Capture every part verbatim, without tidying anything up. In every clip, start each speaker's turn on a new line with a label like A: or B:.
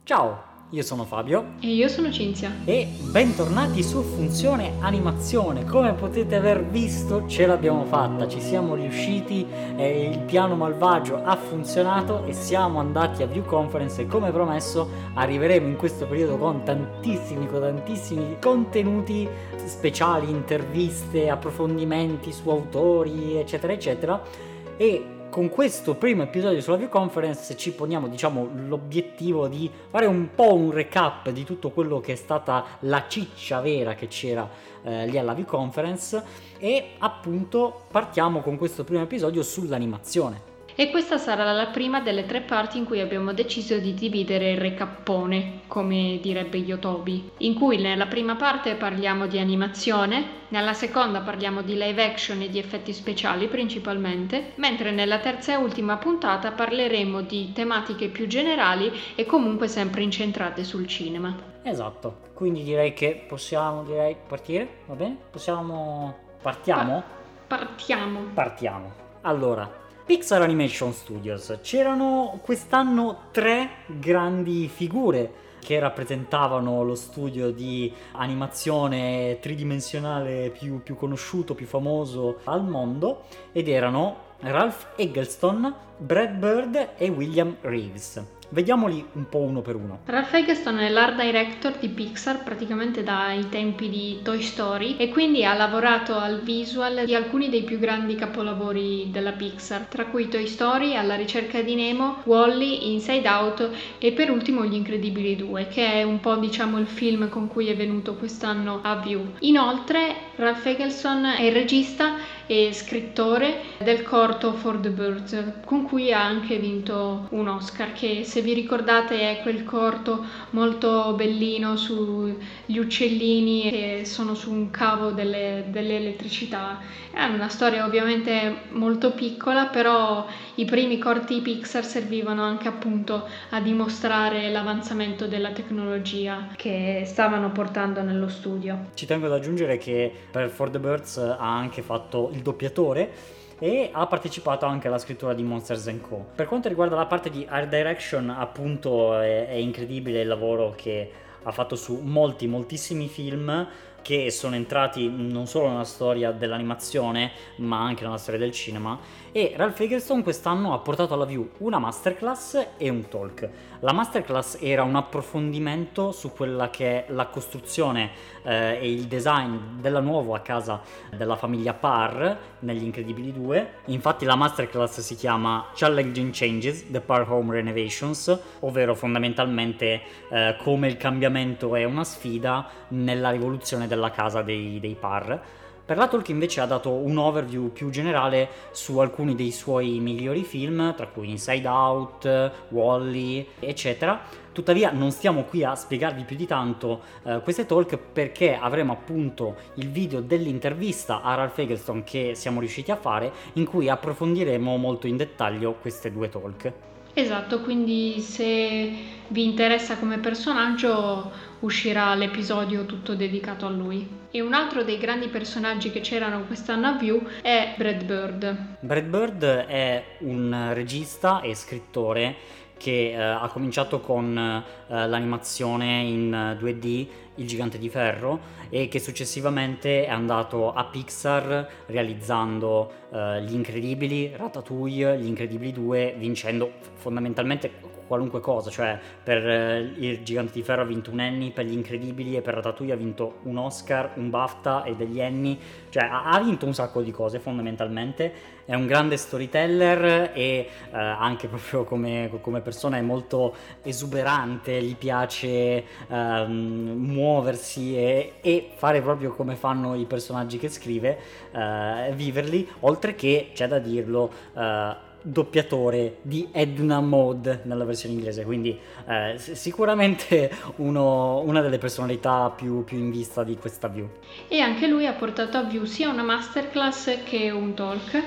A: Ciao, io sono Fabio
B: e io sono Cinzia
A: e bentornati su Funzione Animazione. Come potete aver visto, ce l'abbiamo fatta, ci siamo riusciti, eh, il piano malvagio ha funzionato e siamo andati a View Conference e come promesso arriveremo in questo periodo con tantissimi, con tantissimi contenuti speciali, interviste, approfondimenti su autori, eccetera eccetera. E con questo primo episodio sulla View Conference ci poniamo, diciamo, l'obiettivo di fare un po' un recap di tutto quello che è stata la ciccia vera che c'era eh, lì alla View Conference e appunto partiamo con questo primo episodio sull'animazione.
B: E questa sarà la prima delle tre parti in cui abbiamo deciso di dividere il recappone, come direbbe Yotobi, in cui nella prima parte parliamo di animazione, nella seconda parliamo di live action e di effetti speciali principalmente, mentre nella terza e ultima puntata parleremo di tematiche più generali e comunque sempre incentrate sul cinema.
A: Esatto, quindi direi che possiamo direi partire, va bene? Possiamo... partiamo?
B: Pa- partiamo.
A: Partiamo. Allora... Pixar Animation Studios. C'erano quest'anno tre grandi figure che rappresentavano lo studio di animazione tridimensionale più, più conosciuto, più famoso al mondo, ed erano Ralph Eggleston, Brad Bird e William Reeves. Vediamoli un po' uno per uno.
B: Ralph Eggleston è l'art director di Pixar praticamente dai tempi di Toy Story e quindi ha lavorato al visual di alcuni dei più grandi capolavori della Pixar, tra cui Toy Story, Alla ricerca di Nemo, Wall-E, Inside Out e per ultimo Gli Incredibili due, che è un po' diciamo il film con cui è venuto quest'anno a View. Inoltre Ralph Eggleston è il regista e scrittore del corto For the Birds, con cui ha anche vinto un Oscar, che se vi ricordate è quel corto molto bellino sugli uccellini che sono su un cavo delle, dell'elettricità. È una storia ovviamente molto piccola, però i primi corti Pixar servivano anche appunto a dimostrare l'avanzamento della tecnologia che stavano portando nello studio.
A: Ci tengo ad aggiungere che per For the Birds ha anche fatto il doppiatore e ha partecipato anche alla scrittura di Monsters and Co. Per quanto riguarda la parte di art direction, appunto è, è incredibile il lavoro che ha fatto su molti, moltissimi film che sono entrati non solo nella storia dell'animazione ma anche nella storia del cinema, e Ralph Eggleston quest'anno ha portato alla View una masterclass e un talk. La masterclass era un approfondimento su quella che è la costruzione eh, e il design della nuova casa della famiglia Parr negli Incredibili due. Infatti la masterclass si chiama Challenging Changes, The Parr Home Renovations, ovvero fondamentalmente eh, come il cambiamento è una sfida nella rivoluzione della casa dei, dei Parr. Per la talk invece ha dato un overview più generale su alcuni dei suoi migliori film, tra cui Inside Out, Wall-E, eccetera. Tuttavia non stiamo qui a spiegarvi più di tanto eh, queste talk, perché avremo appunto il video dell'intervista a Ralph Eggleston che siamo riusciti a fare, in cui approfondiremo molto in dettaglio queste due talk.
B: Esatto, quindi se vi interessa come personaggio uscirà l'episodio tutto dedicato a lui. E un altro dei grandi personaggi che c'erano quest'anno a View è Brad Bird.
A: Brad Bird è un regista e scrittore che eh, ha cominciato con eh, l'animazione in due D, Il Gigante di Ferro, e che successivamente è andato a Pixar realizzando eh, Gli Incredibili, Ratatouille, Gli Incredibili due, vincendo fondamentalmente qualunque cosa, cioè per eh, Il Gigante di Ferro ha vinto un Emmy, per Gli Incredibili e per Ratatouille ha vinto un Oscar, un BAFTA e degli Emmy, cioè ha, ha vinto un sacco di cose fondamentalmente. È un grande storyteller e eh, anche proprio come, come persona è molto esuberante, gli piace ehm, muoversi e, e fare proprio come fanno i personaggi che scrive, eh, viverli, oltre che, c'è da dirlo, eh, doppiatore di Edna Mode nella versione inglese, quindi eh, sicuramente uno, una delle personalità più, più in vista di questa View.
B: E anche lui ha portato a View sia una masterclass che un talk.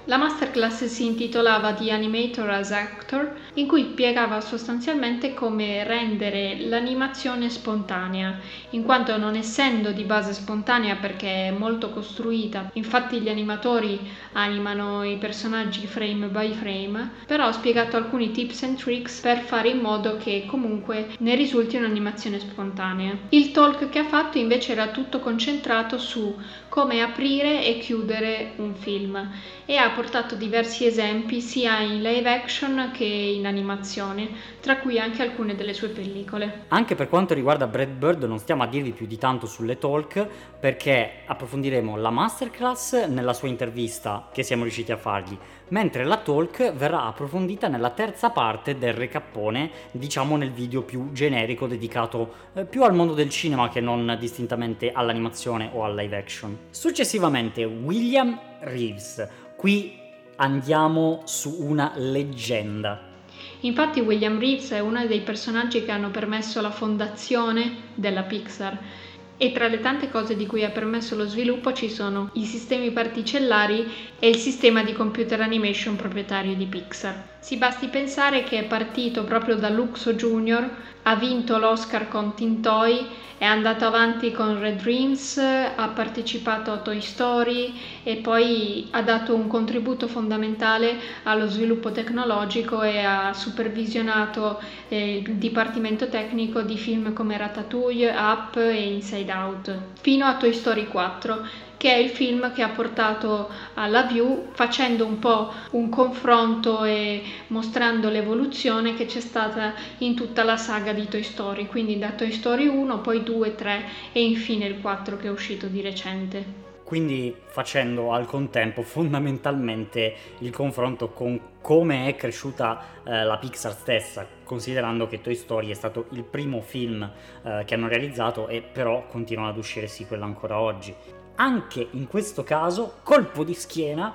B: La masterclass si intitolava The Animator as Actor, in cui spiegava sostanzialmente come rendere l'animazione spontanea, in quanto non essendo di base spontanea perché è molto costruita, infatti gli animatori animano i personaggi frame by frame, però ho spiegato alcuni tips and tricks per fare in modo che comunque ne risulti un'animazione spontanea. Il talk che ha fatto invece era tutto concentrato su come aprire e chiudere un film e ha portato diversi esempi sia in live action che in animazione, tra cui anche alcune delle sue pellicole.
A: Anche per quanto riguarda Brad Bird non stiamo a dirvi più di tanto sulle talk, perché approfondiremo la masterclass nella sua intervista che siamo riusciti a fargli, mentre la talk verrà approfondita nella terza parte del recappone, diciamo nel video più generico dedicato eh, più al mondo del cinema che non distintamente all'animazione o al live action. Successivamente William Reeves. Qui andiamo su una leggenda.
B: Infatti William Reeves è uno dei personaggi che hanno permesso la fondazione della Pixar e tra le tante cose di cui ha permesso lo sviluppo ci sono i sistemi particellari e il sistema di computer animation proprietario di Pixar. Si basti pensare che è partito proprio da Luxo Junior, ha vinto l'Oscar con Tintoy, è andato avanti con Red Dreams, ha partecipato a Toy Story e poi ha dato un contributo fondamentale allo sviluppo tecnologico e ha supervisionato eh, il dipartimento tecnico di film come Ratatouille, Up e Inside Out, fino a Toy Story quattro, che è il film che ha portato alla View, facendo un po' un confronto e mostrando l'evoluzione che c'è stata in tutta la saga di Toy Story, quindi da Toy Story uno, poi due, tre e infine il quattro che è uscito di recente.
A: Quindi facendo al contempo fondamentalmente il confronto con come è cresciuta eh, la Pixar stessa, considerando che Toy Story è stato il primo film eh, che hanno realizzato e però continuano ad uscire sequel ancora oggi. Anche in questo caso, colpo di schiena,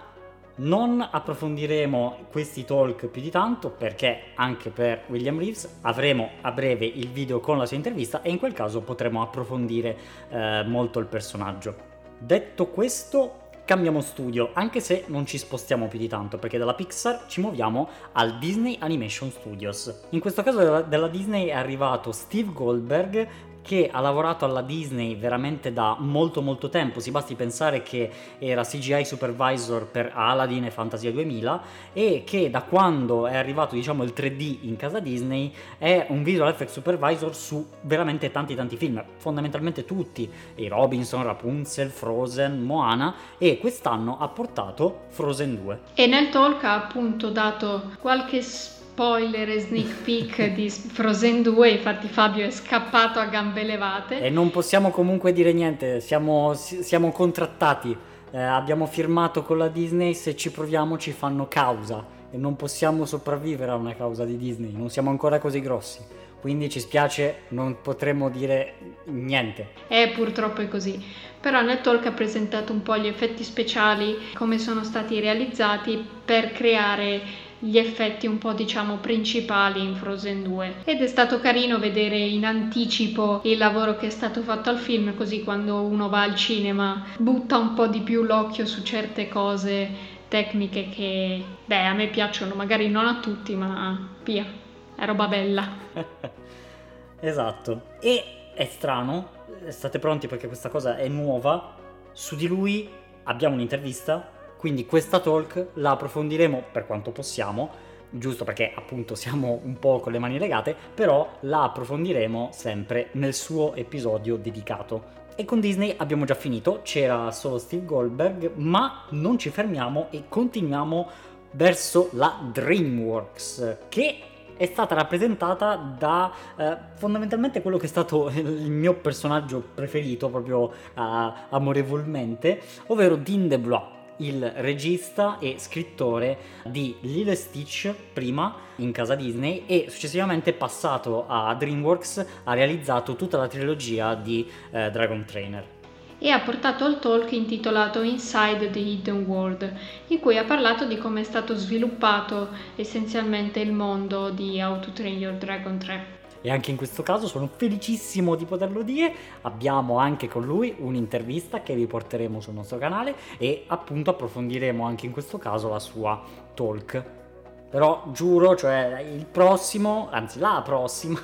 A: non approfondiremo questi talk più di tanto perché anche per William Reeves avremo a breve il video con la sua intervista e in quel caso potremo approfondire eh, molto il personaggio. Detto questo, cambiamo studio, anche se non ci spostiamo più di tanto perché dalla Pixar ci muoviamo al Disney Animation Studios. In questo caso della, della Disney è arrivato Steve Goldberg, che ha lavorato alla Disney veramente da molto molto tempo. Si basti pensare che era C G I supervisor per Aladdin e Fantasia duemila e che da quando è arrivato diciamo il tre D in casa Disney è un visual effects supervisor su veramente tanti tanti film, fondamentalmente tutti, i Robinson, Rapunzel, Frozen, Moana, e quest'anno ha portato Frozen due.
B: E nel talk ha appunto dato qualche spoiler e sneak peek di Frozen due, infatti Fabio è scappato a gambe levate.
A: E non possiamo comunque dire niente, siamo, siamo contrattati, eh, abbiamo firmato con la Disney, se ci proviamo ci fanno causa e non possiamo sopravvivere a una causa di Disney, non siamo ancora così grossi, quindi ci spiace, non potremo dire niente.
B: Eh, purtroppo è così. Però nel talk ha presentato un po' gli effetti speciali, come sono stati realizzati per creare gli effetti un po' diciamo principali in Frozen due, ed è stato carino vedere in anticipo il lavoro che è stato fatto al film, così quando uno va al cinema butta un po' di più l'occhio su certe cose tecniche che beh a me piacciono, magari non a tutti, ma via, è roba bella.
A: Esatto. E è strano, state pronti perché questa cosa è nuova, su di lui abbiamo un'intervista. Quindi questa talk la approfondiremo per quanto possiamo, giusto perché appunto siamo un po' con le mani legate, però la approfondiremo sempre nel suo episodio dedicato. E con Disney abbiamo già finito, c'era solo Steve Goldberg, ma non ci fermiamo e continuiamo verso la DreamWorks, che è stata rappresentata da eh, fondamentalmente quello che è stato il mio personaggio preferito proprio eh, amorevolmente, ovvero Dean DeBlois, il regista e scrittore di Lilo e Stitch prima in casa Disney e successivamente passato a DreamWorks, ha realizzato tutta la trilogia di eh, Dragon Trainer.
B: E ha portato il talk intitolato Inside the Hidden World, in cui ha parlato di come è stato sviluppato essenzialmente il mondo di How to Train Your Dragon tre.
A: e anche in questo caso sono felicissimo di poterlo dire. Abbiamo anche con lui un'intervista che vi porteremo sul nostro canale e appunto approfondiremo anche in questo caso la sua talk. Però giuro, cioè il prossimo, anzi la prossima,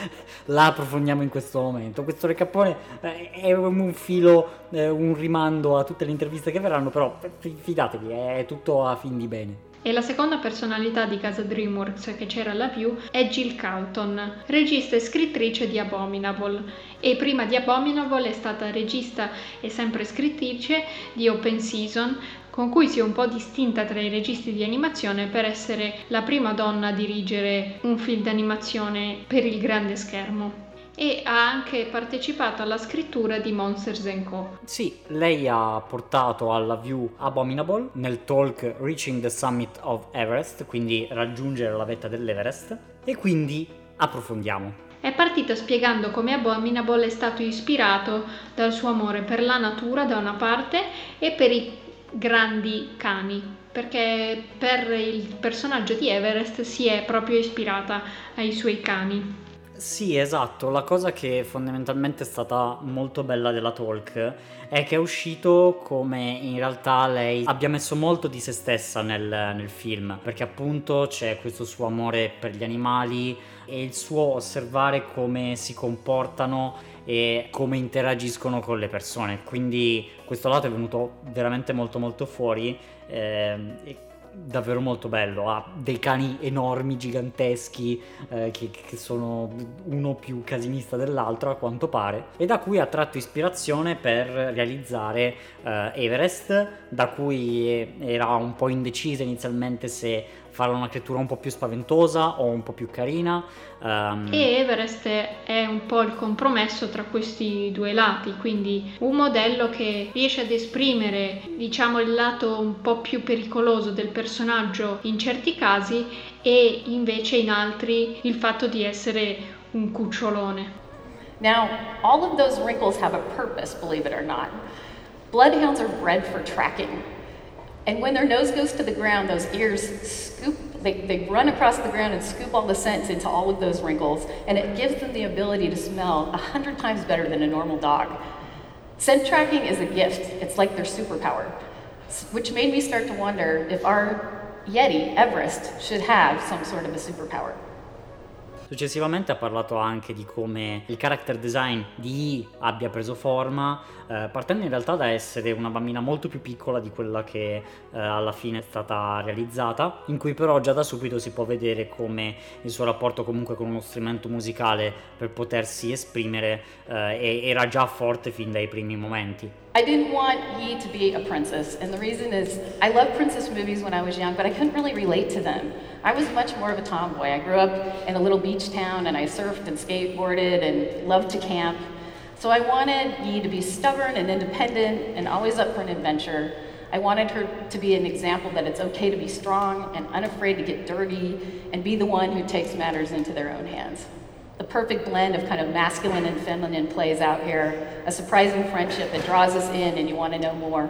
A: la approfondiamo in questo momento. Questo recappone eh, è un filo, eh, un rimando a tutte le interviste che verranno, però f- fidatevi, è tutto a fin di bene.
B: E la seconda personalità di casa DreamWorks che c'era alla View è Jill Calton, regista e scrittrice di Abominable. E prima di Abominable è stata regista e sempre scrittrice di Open Season, con cui si è un po' distinta tra i registi di animazione per essere la prima donna a dirigere un film d'animazione per il grande schermo. E ha anche partecipato alla scrittura di Monsters and Co.
A: Sì, lei ha portato alla View Abominable nel talk Reaching the Summit of Everest, quindi raggiungere la vetta dell'Everest, e quindi approfondiamo.
B: È partito spiegando come Abominable è stato ispirato dal suo amore per la natura da una parte e per i grandi cani, perché per il personaggio di Everest si è proprio ispirata ai suoi cani.
A: Sì, esatto, la cosa che fondamentalmente è stata molto bella della talk è che è uscito come in realtà lei abbia messo molto di se stessa nel, nel film, perché appunto c'è questo suo amore per gli animali e il suo osservare come si comportano e come interagiscono con le persone, quindi questo lato è venuto veramente molto molto fuori ehm, e davvero molto bello. Ha dei cani enormi, giganteschi, eh, che, che sono uno più casinista dell'altro a quanto pare, e da cui ha tratto ispirazione per realizzare eh, Everest, da cui era un po' indecisa inizialmente se farla una creatura un po' più spaventosa o un po' più carina. Um...
B: E Everest è un po' il compromesso tra questi due lati, quindi un modello che riesce ad esprimere, diciamo, il lato un po' più pericoloso del personaggio in certi casi e invece in altri il fatto di essere un cucciolone.
C: Now, all of those wrinkles have a purpose, believe it or not. Bloodhounds are bred for tracking. And when their nose goes to the ground, those ears scoop, they, they run across the ground and scoop all the scents into all of those wrinkles, and it gives them the ability to smell a hundred times better than a normal dog. Scent tracking is a gift. It's like their superpower, which made me start to wonder if our Yeti, Everest, should have some sort of a superpower.
A: Successivamente ha parlato anche di come il character design di I abbia preso forma, eh, partendo in realtà da essere una bambina molto più piccola di quella che eh, alla fine è stata realizzata, in cui però già da subito si può vedere come il suo rapporto comunque con uno strumento musicale per potersi esprimere eh, era già forte fin dai primi momenti.
C: I didn't want Yi to be a princess, and the reason is I loved princess movies when I was young, but I couldn't really relate to them. I was much more of a tomboy. I grew up in a little beach town, and I surfed and skateboarded and loved to camp. So I wanted Yi to be stubborn and independent and always up for an adventure. I wanted her to be an example that it's okay to be strong and unafraid to get dirty and be the one who takes matters into their own hands. The perfect blend of kind of masculine and feminine plays out here, a surprising friendship that draws us in and you want to know more.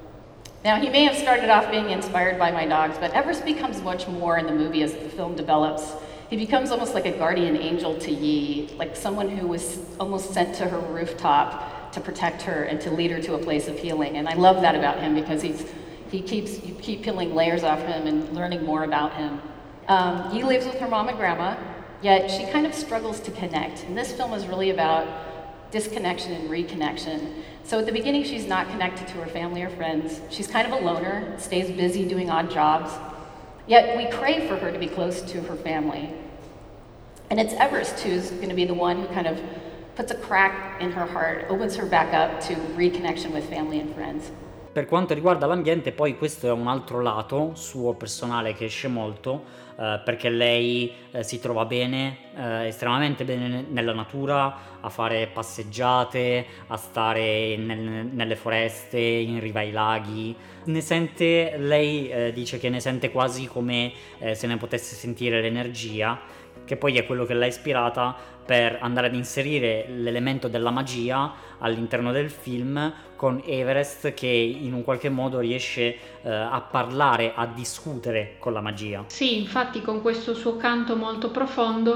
C: Now, he may have started off being inspired by my dogs, but Everest becomes much more in the movie as the film develops. He becomes almost like a guardian angel to Yi, like someone who was almost sent to her rooftop to protect her and to lead her to a place of healing. And I love that about him because he's, he keeps, you keep peeling layers off him and learning more about him. Um, Yi lives with her mom and grandma, yet she kind of struggles to connect. And this film is really about disconnection and reconnection. So at the beginning, she's not connected to her family or friends. She's kind of a loner, stays busy doing odd jobs. Yet we crave for her to be close to her family. And it's Everest who's going to be the one who kind of puts a crack in her heart, opens her back up to reconnection with family and friends.
A: Per quanto riguarda l'ambiente, poi questo è un altro lato suo personale che esce molto, eh, perché lei eh, si trova bene, eh, estremamente bene nella natura, a fare passeggiate, a stare nel, nelle foreste, in riva ai laghi. Ne sente, lei eh, dice che ne sente quasi come eh, se ne potesse sentire l'energia, che poi è quello che l'ha ispirata per andare ad inserire l'elemento della magia all'interno del film, con Everest che in un qualche modo riesce eh, a parlare, a discutere con la magia.
B: Sì, infatti con questo suo canto molto profondo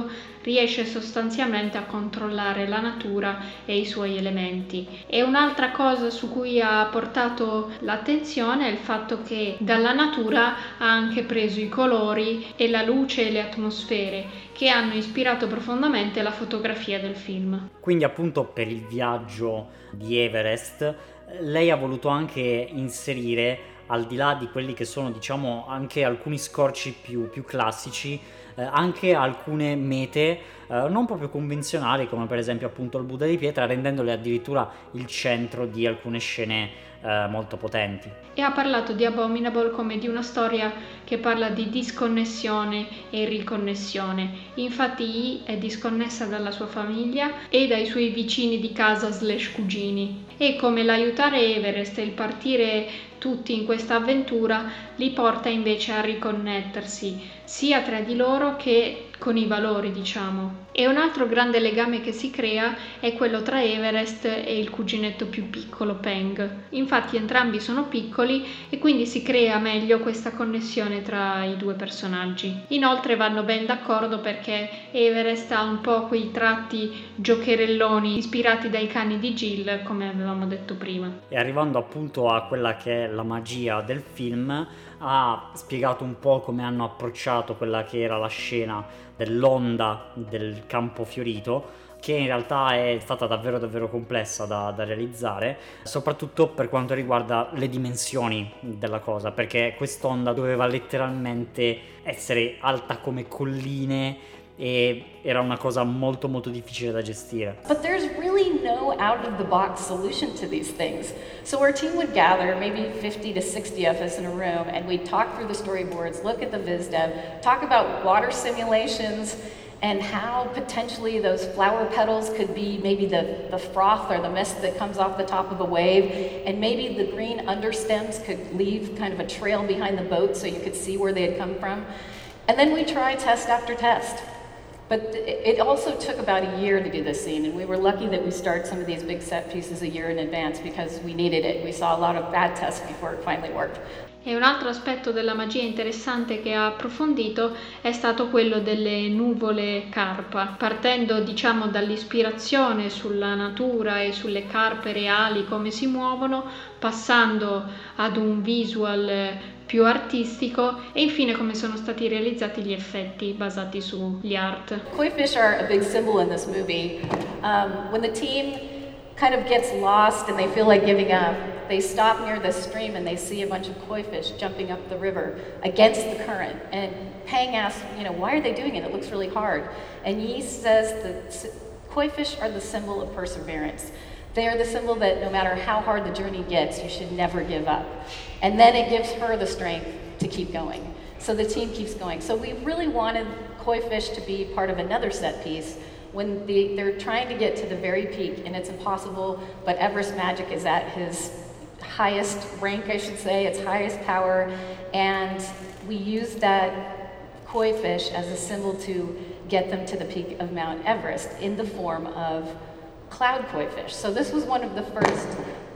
B: riesce sostanzialmente a controllare la natura e i suoi elementi. E un'altra cosa su cui ha portato l'attenzione è il fatto che dalla natura ha anche preso i colori e la luce e le atmosfere che hanno ispirato profondamente la fotografia del film.
A: Quindi appunto per il viaggio di Everest lei ha voluto anche inserire, al di là di quelli che sono diciamo anche alcuni scorci più, più classici, eh, anche alcune mete eh, non proprio convenzionali, come per esempio appunto il Buddha di pietra, rendendole addirittura il centro di alcune scene eh, molto potenti.
B: E ha parlato di Abominable come di una storia che parla di disconnessione e riconnessione. Infatti Yi è disconnessa dalla sua famiglia e dai suoi vicini di casa slash cugini, e come l'aiutare Everest e il partire tutti in questa avventura li porta invece a riconnettersi sia tra di loro che con i valori, diciamo. E un altro grande legame che si crea è quello tra Everest e il cuginetto più piccolo, Peng. Infatti entrambi sono piccoli e quindi si crea meglio questa connessione tra i due personaggi. Inoltre vanno ben d'accordo perché Everest ha un po' quei tratti giocherelloni ispirati dai cani di Jill, come avevamo detto prima.
A: E arrivando appunto a quella che è la magia del film, ha spiegato un po' come hanno approcciato quella che era la scena dell'onda del campo fiorito, che in realtà è stata davvero davvero complessa da, da realizzare, soprattutto per quanto riguarda le dimensioni della cosa, perché quest'onda doveva letteralmente essere alta come colline e era una cosa molto molto difficile da gestire.
C: But there's really no out-of-the-box solution to these things. So our team would gather, maybe fifty to sixty of us in a room, and we'd talk through the storyboards, look at the viz dev, talk about water simulations, and how potentially those flower petals could be maybe the, the froth or the mist that comes off the top of a wave, and maybe the green understems could leave kind of a trail behind the boat so you could see where they had come from. And then we try test after test. But it also took about a year to do this scene, and we were lucky that we started some of these big set pieces a year in advance because we needed it. We saw a lot of bad tests before it finally worked.
B: E un altro aspetto della magia interessante che ha approfondito è stato quello delle nuvole carpa, partendo diciamo dall'ispirazione sulla natura e sulle carpe reali, come si muovono, passando ad un visual più artistico e infine come sono stati realizzati gli effetti basati sugli art.
C: Koi fish are a big symbol in this movie. Um, when the team kind of gets lost and they feel like giving up, they stop near the stream and they see a bunch of koi fish jumping up the river against the current. And Peng asks, you know, why are they doing it? It looks really hard. And Yi says that koi fish are the symbol of perseverance. They are the symbol that no matter how hard the journey gets, you should never give up. And then it gives her the strength to keep going. So the team keeps going. So we really wanted koi fish to be part of another set piece when the, they're trying to get to the very peak, and it's impossible, but Everest Magic is at his highest rank, I should say, its highest power, and we used that koi fish as a symbol to get them to the peak of Mount Everest in the form of cloud koi fish. So this was one of the first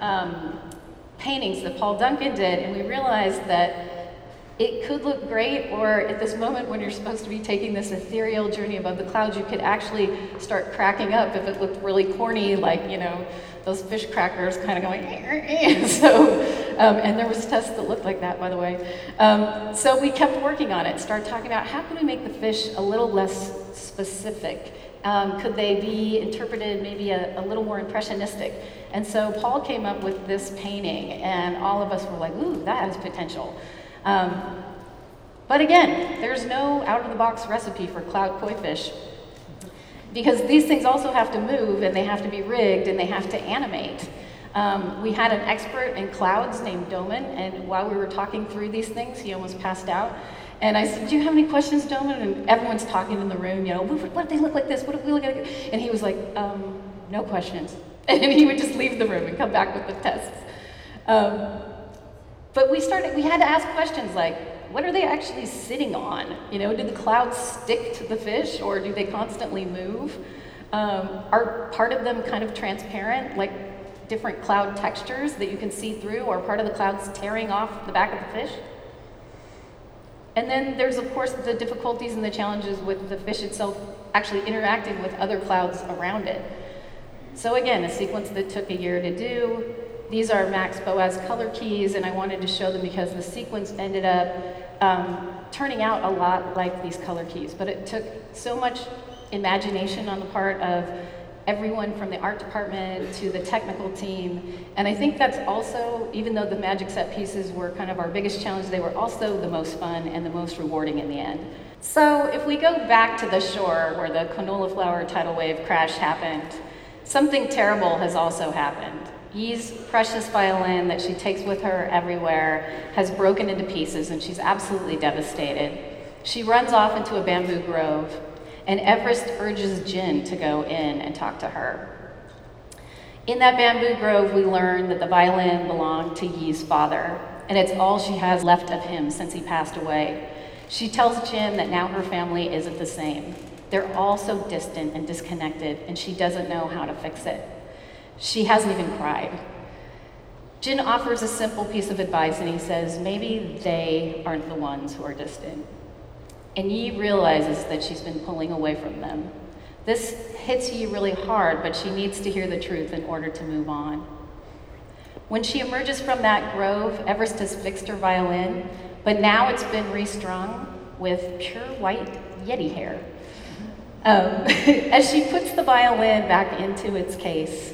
C: um, paintings that Paul Duncan did, and we realized that it could look great, or at this moment when you're supposed to be taking this ethereal journey above the clouds, you could actually start cracking up if it looked really corny, like, you know, those fish crackers kind of going, so, um, and there was tests that looked like that, by the way. Um, so we kept working on it, started talking about how can we make the fish a little less specific? Um, could they be interpreted maybe a, a little more impressionistic? And so Paul came up with this painting, and all of us were like, ooh, that has potential. Um, but again, there's no out-of-the-box recipe for cloud koi fish, because these things also have to move, and they have to be rigged, and they have to animate. Um, we had an expert in clouds named Doman, and while we were talking through these things, he almost passed out. And I said, do you have any questions, Doman? And everyone's talking in the room, you know, what, what do they look like this? What if we look at it? And he was like, um, no questions. And he would just leave the room and come back with the tests. Um, but we started, we had to ask questions like, what are they actually sitting on? You know, do the clouds stick to the fish, or do they constantly move? Um, are part of them kind of transparent, like different cloud textures that you can see through, or part of the clouds tearing off the back of the fish? And then there's, of course, the difficulties and the challenges with the fish itself actually interacting with other clouds around it. So again, a sequence that took a year to do. These are Max Boas color keys, and I wanted to show them because the sequence ended up um, turning out a lot like these color keys, but it took so much imagination on the part of everyone from the art department to the technical team. And I think that's also, even though the magic set pieces were kind of our biggest challenge, they were also the most fun and the most rewarding in the end. So if we go back to the shore where the canola flower tidal wave crash happened, something terrible has also happened. Yi's precious violin that she takes with her everywhere has broken into pieces and she's absolutely devastated. She runs off into a bamboo grove, and Everest urges Jin to go in and talk to her. In that bamboo grove, we learn that the violin belonged to Yi's father, and it's all she has left of him since he passed away. She tells Jin that now her family isn't the same. They're all so distant and disconnected, and she doesn't know how to fix it. She hasn't even cried. Jin offers a simple piece of advice, and he says, maybe they aren't the ones who are distant. And Yi realizes that she's been pulling away from them. This hits Yi really hard, but she needs to hear the truth in order to move on. When she emerges from that grove, Everest has fixed her violin, but now it's been restrung with pure white Yeti hair. Um, as she puts the violin back into its case,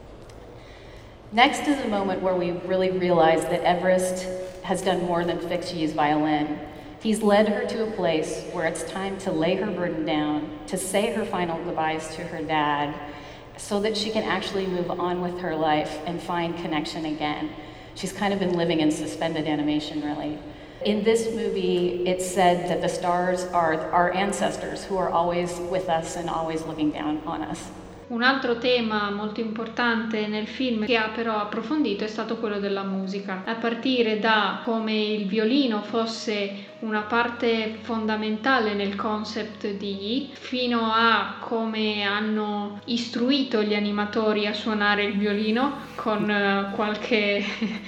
C: next is a moment where we really realize that Everest has done more than fix Yi's violin. He's led her to a place where it's time to lay her burden down, to say her final goodbyes to her dad, so that she can actually move on with her life and find connection again. She's kind of been living in suspended animation, really. In this movie, it's said that the stars are our ancestors who are always with us and always looking down on us.
B: Un altro tema molto importante nel film che ha però approfondito è stato quello della musica, a partire da come il violino fosse una parte fondamentale nel concept di Yi, fino a come hanno istruito gli animatori a suonare il violino con uh, qualche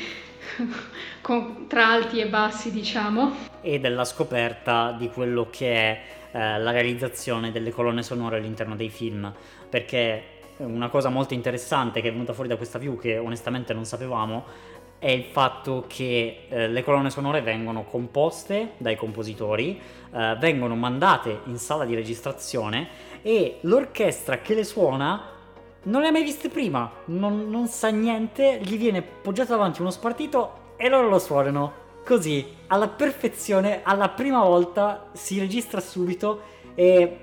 B: con, tra alti e bassi, diciamo,
A: e della scoperta di quello che è eh, la realizzazione delle colonne sonore all'interno dei film, perché una cosa molto interessante che è venuta fuori da questa view, che onestamente non sapevamo, è il fatto che eh, le colonne sonore vengono composte dai compositori, eh, vengono mandate in sala di registrazione e l'orchestra che le suona non le ha mai viste prima, non, non sa niente, gli viene poggiato davanti uno spartito e loro lo suonano così, alla perfezione, alla prima volta, si registra subito e,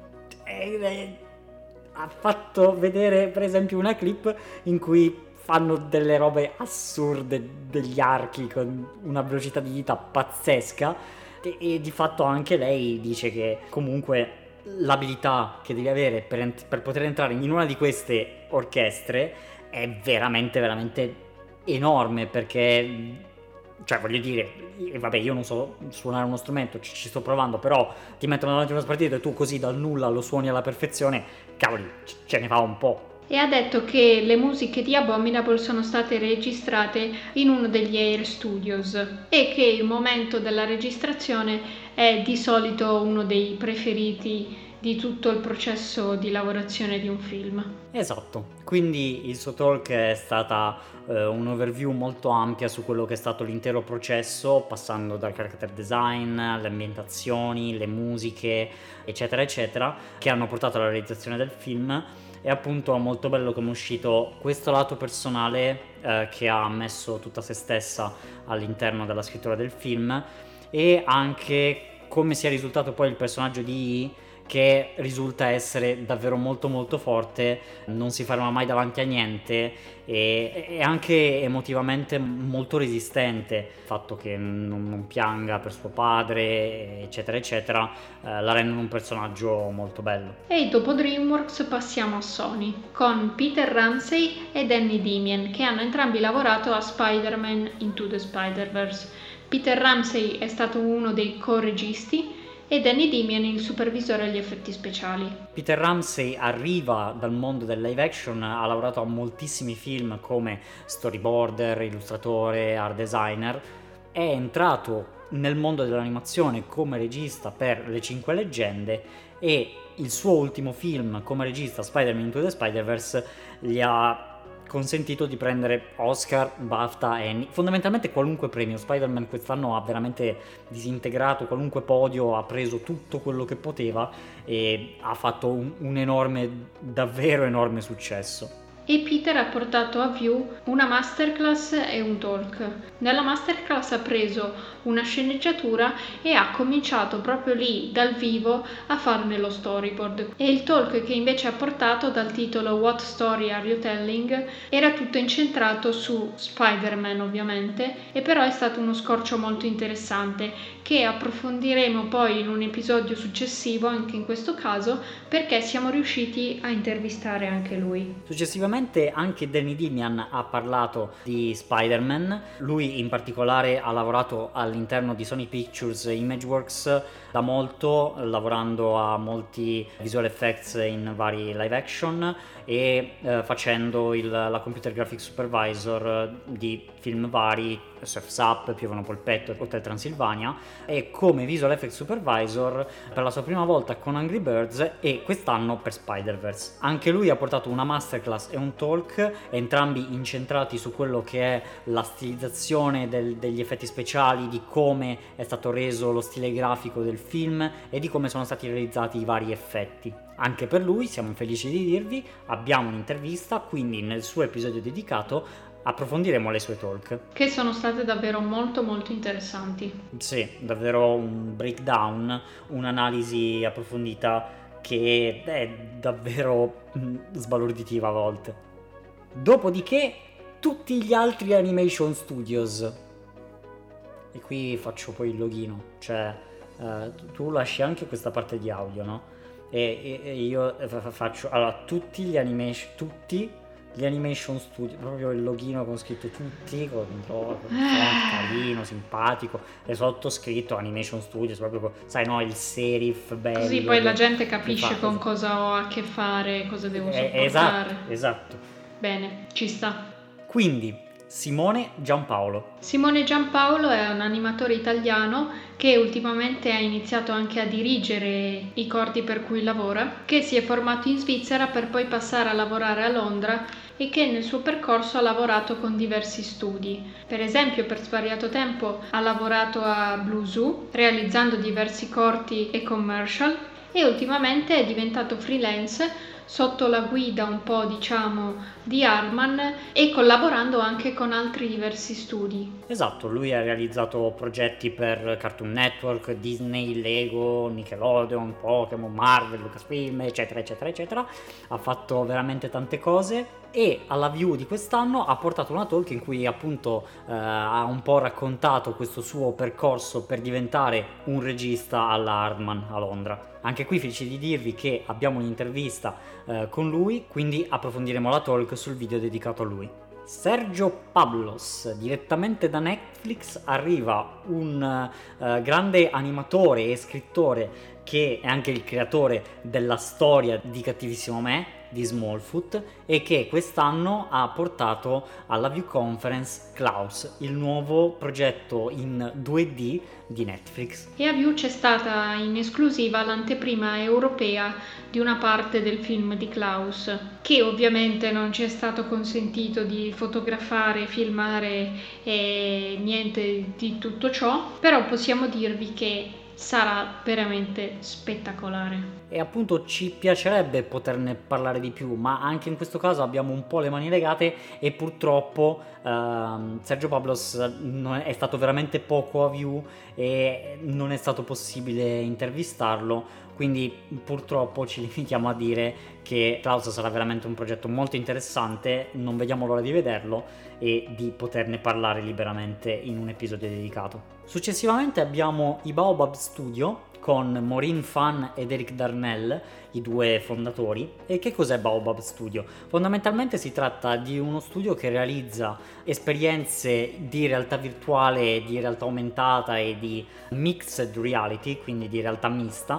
A: e, e ha fatto vedere per esempio una clip in cui fanno delle robe assurde, degli archi con una velocità di dita pazzesca e, e di fatto anche lei dice che comunque l'abilità che devi avere per, ent- per poter entrare in una di queste orchestre è veramente veramente enorme, perché cioè voglio dire, vabbè, io non so suonare uno strumento, ci, ci sto provando, però ti mettono davanti a uno spartito e tu così dal nulla lo suoni alla perfezione, cavoli, ce ne fa un po'.
B: E ha detto che le musiche di Abominable sono state registrate in uno degli Air Studios e che il momento della registrazione è di solito uno dei preferiti di tutto il processo di lavorazione di un film.
A: Esatto, quindi il suo talk è stata eh, un overview molto ampia su quello che è stato l'intero processo, passando dal character design, le ambientazioni, le musiche, eccetera eccetera, che hanno portato alla realizzazione del film. E appunto è molto bello come è uscito questo lato personale eh, che ha messo tutta se stessa all'interno della scrittura del film, e anche come sia risultato poi il personaggio di Yi, che risulta essere davvero molto molto forte, non si ferma mai davanti a niente e è anche emotivamente molto resistente. Il fatto che non, non pianga per suo padre, eccetera eccetera, eh, la rendono un personaggio molto bello.
B: E dopo DreamWorks passiamo a Sony, con Peter Ramsey e Danny Damian, che hanno entrambi lavorato a Spider-Man Into the Spider-Verse. Peter Ramsey è stato uno dei co-registi e Danny Damian il supervisore agli effetti speciali.
A: Peter Ramsey arriva dal mondo del live action, ha lavorato a moltissimi film come storyboarder, illustratore, art designer, è entrato nel mondo dell'animazione come regista per Le Cinque Leggende e il suo ultimo film come regista, Spider-Man Into the Spider-Verse, gli ha consentito di prendere Oscar, BAFTA, Emmy, fondamentalmente qualunque premio. Spider-Man quest'anno ha veramente disintegrato qualunque podio, ha preso tutto quello che poteva e ha fatto un, un enorme, davvero enorme successo.
B: E Peter ha portato a View una masterclass e un talk. Nella masterclass ha preso una sceneggiatura e ha cominciato proprio lì, dal vivo, a farne lo storyboard. E il talk che invece ha portato, dal titolo What Story Are You Telling, era tutto incentrato su Spider-Man ovviamente, e però è stato uno scorcio molto interessante che approfondiremo poi in un episodio successivo, anche in questo caso, perché siamo riusciti a intervistare anche lui.
A: Successivamente anche Danny Dimian ha parlato di Spider-Man. Lui in particolare ha lavorato all'interno di Sony Pictures Imageworks da molto, lavorando a molti visual effects in vari live action e eh, facendo il, la computer graphics supervisor di film vari, Surf's Up, Piovano Polpetto, Hotel Transilvania, e come visual effects supervisor per la sua prima volta con Angry Birds e quest'anno per Spider-Verse. Anche lui ha portato una masterclass e un talk, entrambi incentrati su quello che è la stilizzazione del, degli effetti speciali, di come è stato reso lo stile grafico del film e di come sono stati realizzati i vari effetti. Anche per lui, siamo felici di dirvi, abbiamo un'intervista, quindi nel suo episodio dedicato approfondiremo le sue talk,
B: che sono state davvero molto molto interessanti.
A: Sì, davvero un breakdown, un'analisi approfondita che è davvero sbalorditiva a volte. Dopodiché tutti gli altri animation studios, e qui faccio poi il loghino, cioè eh, tu lasci anche questa parte di audio, no? E, e, e io faccio, allora, tutti gli animation, tutti gli animation studio, proprio il loghino con scritto tutti, con un carino, simpatico, e sottoscritto animation studios, proprio con, sai, no, il serif bello.
B: Così poi la gente capisce
A: fa,
B: con cosa ho a che fare, cosa devo
A: eh,
B: sopportare.
A: Esatto, esatto.
B: Bene, ci sta.
A: Quindi, Simone Giampaolo.
B: Simone Giampaolo è un animatore italiano che ultimamente ha iniziato anche a dirigere i corti per cui lavora, che si è formato in Svizzera per poi passare a lavorare a Londra e che nel suo percorso ha lavorato con diversi studi. Per esempio, per svariato tempo ha lavorato a Blue Zoo, realizzando diversi corti e commercial, e ultimamente è diventato freelance sotto la guida un po', diciamo, di Harman e collaborando anche con altri diversi studi.
A: Esatto, lui ha realizzato progetti per Cartoon Network, Disney, Lego, Nickelodeon, Pokémon, Marvel, Lucasfilm, eccetera eccetera eccetera. Ha fatto veramente tante cose e alla View di quest'anno ha portato una talk in cui appunto eh, ha un po' raccontato questo suo percorso per diventare un regista alla Harman a Londra. Anche qui felice di dirvi che abbiamo un'intervista eh, con lui, quindi approfondiremo la talk sul video dedicato a lui. Sergio Pablos, direttamente da Netflix, arriva un uh, grande animatore e scrittore che è anche il creatore della storia di Cattivissimo Me, di Smallfoot, e che quest'anno ha portato alla View Conference Klaus, il nuovo progetto in due D di Netflix.
B: E a View c'è stata in esclusiva l'anteprima europea di una parte del film di Klaus, che ovviamente non ci è stato consentito di fotografare, filmare e niente di tutto ciò, però possiamo dirvi che sarà veramente spettacolare.
A: E appunto ci piacerebbe poterne parlare di più, ma anche in questo caso abbiamo un po' le mani legate e purtroppo ehm, Sergio Pablos non è, è stato veramente poco a View e non è stato possibile intervistarlo, quindi purtroppo ci limitiamo a dire che Klaus sarà veramente un progetto molto interessante, non vediamo l'ora di vederlo e di poterne parlare liberamente in un episodio dedicato. Successivamente abbiamo i Baobab Studio con Maureen Fan ed Eric Darnell, i due fondatori. E che cos'è Baobab Studio? Fondamentalmente si tratta di uno studio che realizza esperienze di realtà virtuale, di realtà aumentata e di mixed reality, quindi di realtà mista,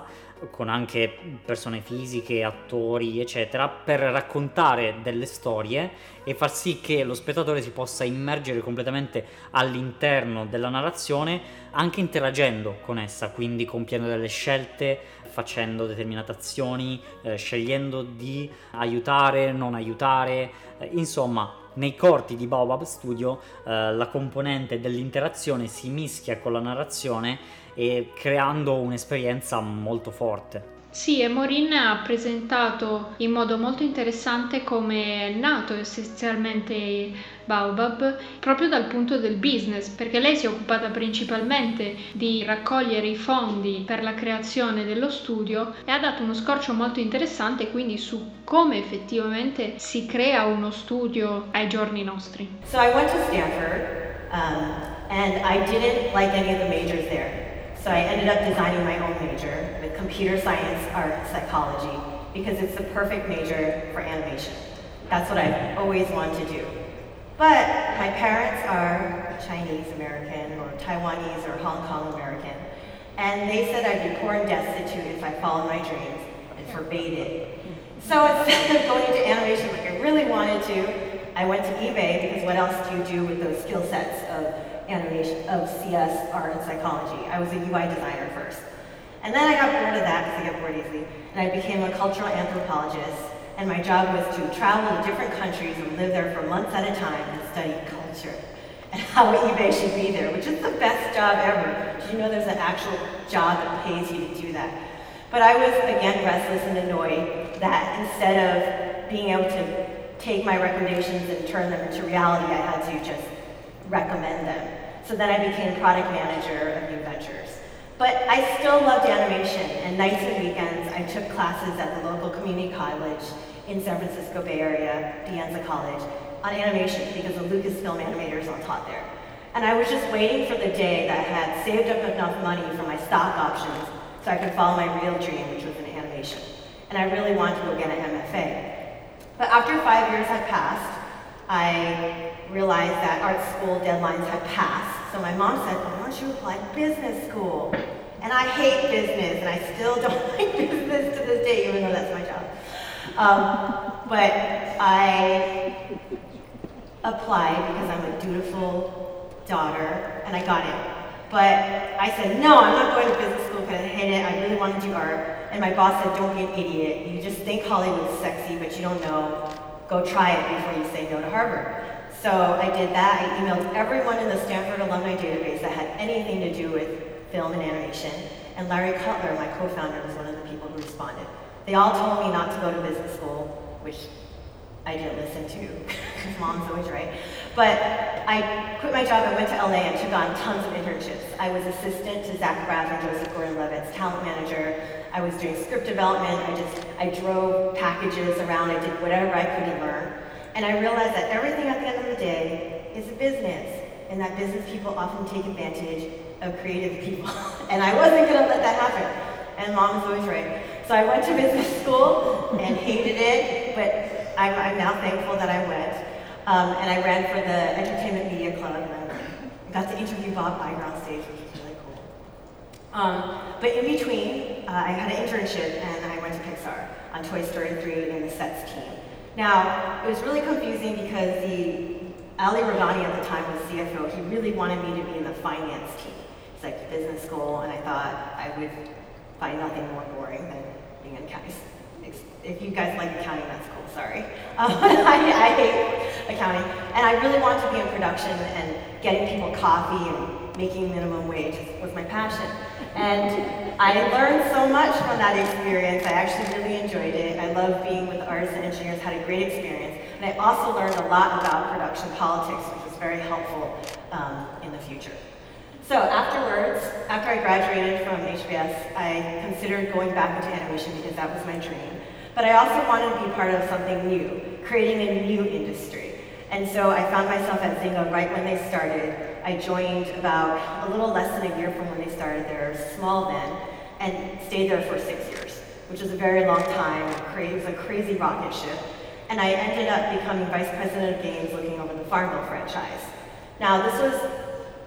A: con anche persone fisiche, attori, eccetera, per raccontare delle storie e far sì che lo spettatore si possa immergere completamente all'interno della narrazione, anche interagendo con essa, quindi compiendo delle scelte, facendo determinate azioni, eh, scegliendo di aiutare, non aiutare, eh, insomma. Nei corti di Baobab Studio eh, la componente dell'interazione si mischia con la narrazione e creando un'esperienza molto forte.
B: Sì, e Maureen ha presentato in modo molto interessante come è nato essenzialmente Baobab proprio dal punto del business, perché lei si è occupata principalmente di raccogliere i fondi per la creazione dello studio e ha dato uno scorcio molto interessante quindi su come effettivamente si crea uno studio ai giorni nostri.
D: So I went to Stanford um, and I didn't like any of the majors there. So I ended up designing my own major with computer science, art, and psychology because it's the perfect major for animation. That's what I've always wanted to do. But my parents are Chinese American or Taiwanese or Hong Kong American, and they said I'd be poor and destitute if I followed my dreams and forbade it. So instead of going into animation like I really wanted to, I went to eBay because what else do you do with those skill sets of animation, of C S, art, and psychology? I was a U I designer first. And then I got bored of that because I get bored easily, and I became a cultural anthropologist, and my job was to travel to different countries and live there for months at a time and study culture and how eBay should be there, which is the best job ever. Did you know there's an actual job that pays you to do that? But I was, again, restless and annoyed that instead of being able to take my recommendations and turn them into reality, I had to just recommend them. So then I became product manager of New Ventures. But I still loved animation, and nights and weekends I took classes at the local community college in San Francisco Bay Area, De Anza College, on animation because the Lucasfilm animators all taught there. And I was just waiting for the day that I had saved up enough money for my stock options so I could follow my real dream, which was in animation. And I really wanted to go get an M F A. But after five years had passed, I realized that art school deadlines had passed. So my mom said, why don't you apply to business school? And I hate business, and I still don't like business to this day, even though that's my job. Um, but I applied because I'm a dutiful daughter, and I got it. But I said, no, I'm not going to business school because I hate it. I really want to do art. And my boss said, don't be an idiot. You just think Hollywood's sexy, but you don't know. Go try it before you say no to Harvard. So I did that. I emailed everyone in the Stanford alumni database that had anything to do with film and animation. And Larry Cutler, my co-founder, was one of the people who responded. They all told me not to go to business school, which I didn't listen to, because mom's always right. But I quit my job, I went to L A and took on tons of internships. I was assistant to Zach Braff and Joseph Gordon-Levitt's talent manager. I was doing script development. I just, I drove packages around. I did whatever I could to learn. And I realized that everything at the end of the day is a business, and that business people often take advantage of creative people. And I wasn't gonna let that happen. And mom was always right. So I went to business school and hated it, but I'm, I'm now thankful that I went. Um, and I ran for the Entertainment Media Club, and I got to interview Bob Iger on stage, which was really cool. Um, but in between, uh, I had an internship, and I went to Pixar on Toy Story three and the sets team. Now, it was really confusing because the Ali Ragani at the time was C F O. He really wanted me to be in the finance team. It's like business school, and I thought I would find nothing more boring than being in accounting. If you guys like accounting, that's cool, sorry. Um, I, I hate accounting. And I really wanted to be in production, and getting people coffee and making minimum wage was my passion. And I learned so much from that experience. I actually really enjoyed it. I love being with the artists and engineers, had a great experience. And I also learned a lot about production politics, which was very helpful um, in the future. So afterwards, after I graduated from H B S, I considered going back into animation because that was my dream. But I also wanted to be part of something new, creating a new industry. And so I found myself at Zynga right when they started. I joined about a little less than a year from when they started. They were small then, and stayed there for six years, which was a very long time. It was a crazy rocket ship. And I ended up becoming vice president of games, looking over the Farmville franchise. Now, this was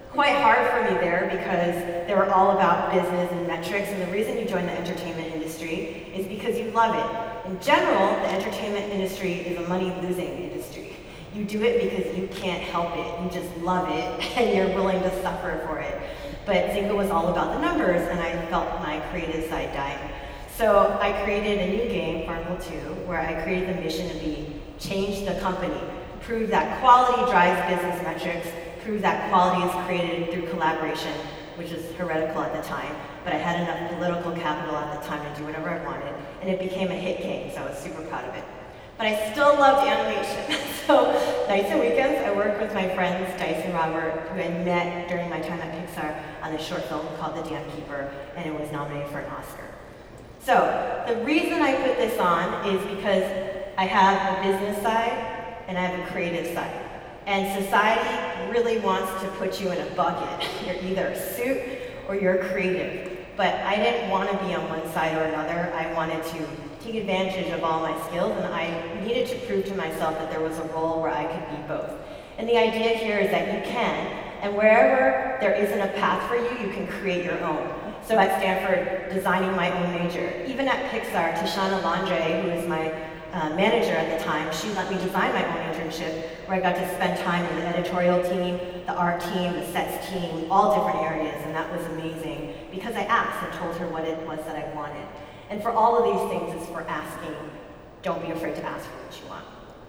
D: quite hard for me there because they were all about business and metrics, and the reason you join the entertainment industry is because you love it. In general, the entertainment industry is a money-losing industry. You do it because you can't help it, you just love it, and you're willing to suffer for it. But Zynga was all about the numbers, and I felt my creative side dying. So I created a new game, Farmville two, where I created the mission to be change the company, prove that quality drives business metrics, prove that quality is created through collaboration, which is heretical at the time, but I had enough political capital at the time to do whatever I wanted, and it became a hit game, so I was super proud of it. But I still loved animation. So nights and weekends, I worked with my friends, Dice and Robert, who I met during my time at Pixar on a short film called The Dam Keeper, and it was nominated for an Oscar. So the reason I put this on is because I have a business side and I have a creative side. And society really wants to put you in a bucket. You're either a suit or you're creative. But I didn't want to be on one side or another. I wanted to take advantage of all my skills, and I needed to prove to myself that there was a role where I could be both. And the idea here is that you can, and wherever there isn't a path for you, you can create your own. So at Stanford, designing my own major. Even at Pixar, Tishana Landre, who is my uh, manager at the time, she let me design my own internship, where I got to spend time in the editorial team, the art team, the sets team, all different areas, and that was amazing because I asked and told her what it was that I wanted. And for all of these things, it's for asking. Don't be afraid to ask for what you want.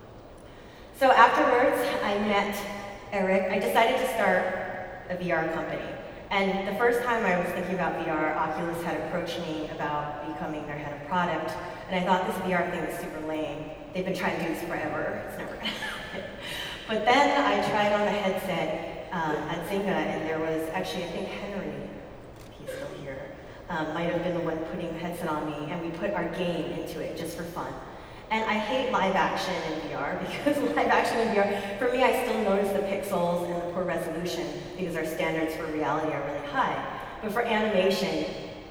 D: So afterwards, I met Eric. I decided to start a V R company. And the first time I was thinking about V R, Oculus had approached me about becoming their head of product. And I thought this V R thing was super lame. They've been trying to do this forever. It's never gonna happen. But then I tried on a headset um, at Zynga, and there was actually, I think Henry, he's still here, um, might have been the one putting the headset on me, and we put our game into it just for fun. And I hate live action in V R because live action in V R, for me, I still notice the pixels and the poor resolution because our standards for reality are really high. But for animation,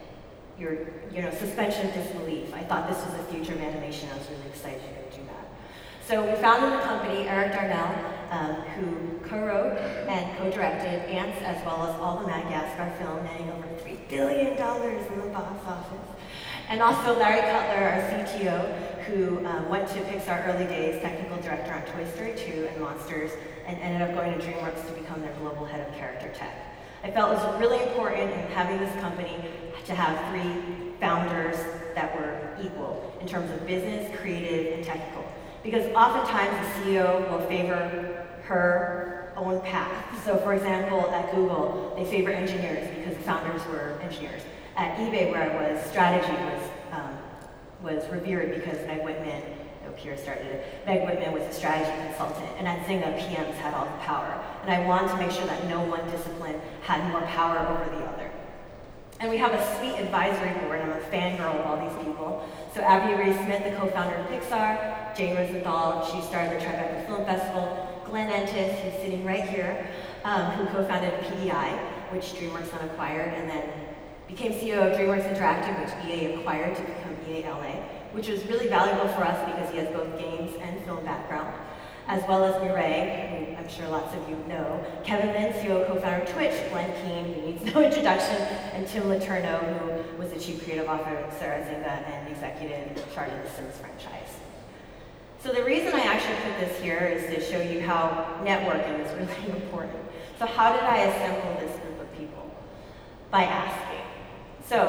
D: your you know, suspension of disbelief. I thought this was the future of animation. I was really excited to do that. So we founded the company, Eric Darnell, um, who co-wrote and co-directed Ants, as well as all the Madagascar film, netting over three billion dollars in the box office. And also Larry Cutler, our C T O, who um, went to Pixar early days, technical director on Toy Story two and Monsters, and ended up going to DreamWorks to become their global head of character tech. I felt it was really important in having this company to have three founders that were equal in terms of business, creative, and technical. Because oftentimes the C E O will favor her own path. So for example, at Google, they favor engineers because the founders were engineers. At eBay, where I was, strategy was um, was revered because Meg Whitman, no, Pierre started it, Meg Whitman was a strategy consultant, and at Zynga, P Ms had all the power. And I wanted to make sure that no one discipline had more power over the other. And we have a sweet advisory board. I'm a fangirl of all these people. So Abby Ray Smith, the co-founder of Pixar, Jane Rosenthal, she started the Tribeca Film Festival, Glenn Entis, who's sitting right here, um, who co-founded P E I, which DreamWorks then acquired, and then became C E O of DreamWorks Interactive, which E A acquired to become E A L A, which was really valuable for us because he has both games and film background, as well as Mireille, who I'm sure lots of you know, Kevin Min, C E O co-founder of Twitch, Glenn Keane, who needs no introduction, and Tim Letourneau, who was the chief creative officer at Zynga and executive in charge of the Sims franchise. So the reason I actually put this here is to show you how networking is really important. So how did I assemble this group of people? By asking. So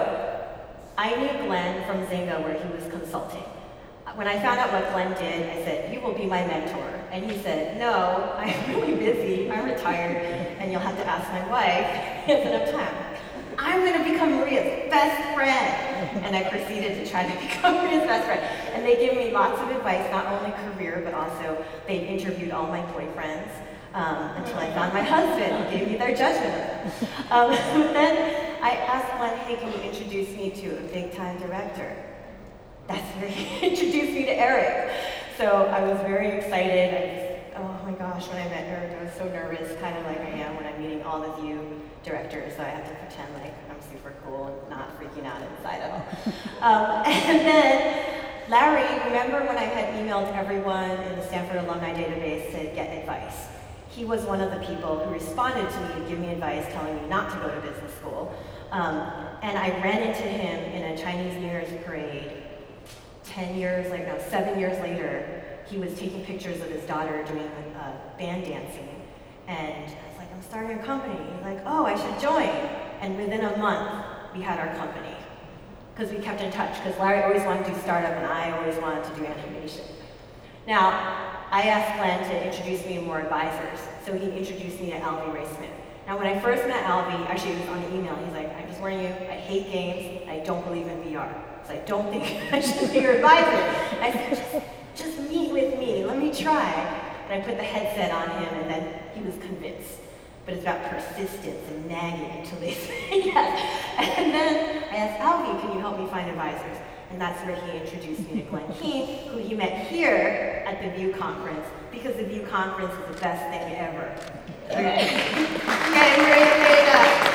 D: I knew Glenn from Zynga, where he was consulting. When I found out what Glenn did, I said, you will be my mentor. And he said, no, I'm really busy, I'm retired, and you'll have to ask my wife, he has enough time. I'm gonna become Maria's best friend. And I proceeded to try to become Maria's best friend. And they gave me lots of advice, not only career, but also they've interviewed all my boyfriends um, until I found my husband, who gave me their judgment of them. Um, then I asked Glenn, hey, can you introduce me to a big time director? That's where he introduced me to Eric. So I was very excited. I just, oh my gosh, when I met Eric, I was so nervous, kind of like I am when I'm meeting all of you directors, so I have to pretend like I'm super cool and not freaking out inside at all. um, and then Larry, remember when I had emailed everyone in the Stanford alumni database to get advice? he was one of the people who responded to me to give me advice, telling me not to go to business school. Um, and I ran into him in a Chinese New Year's parade ten years, like no, seven years later. He was taking pictures of his daughter doing uh, band dancing. And I was like, I'm starting a company. He's like, oh, I should join. And within a month, we had our company. Because we kept in touch, because Larry always wanted to do startup and I always wanted to do animation. Now, I asked Glenn to introduce me to more advisors, so he introduced me to Alvy Raceman. Now, when I first met Alvy, actually it was on the email, he's like, I'm just warning you, I hate games, and I don't believe in V R. So I don't think I should be your advisor. I said, just, just meet with me, let me try. And I put the headset on him, and then he was convinced. But it's about persistence and nagging until they say yes. And then I asked Alvy, can you help me find advisors? And that's where he introduced me to Glenn Keane, who he met here at the View Conference, because the View Conference is the best thing ever. Okay. Okay, I'm ready to pay it up.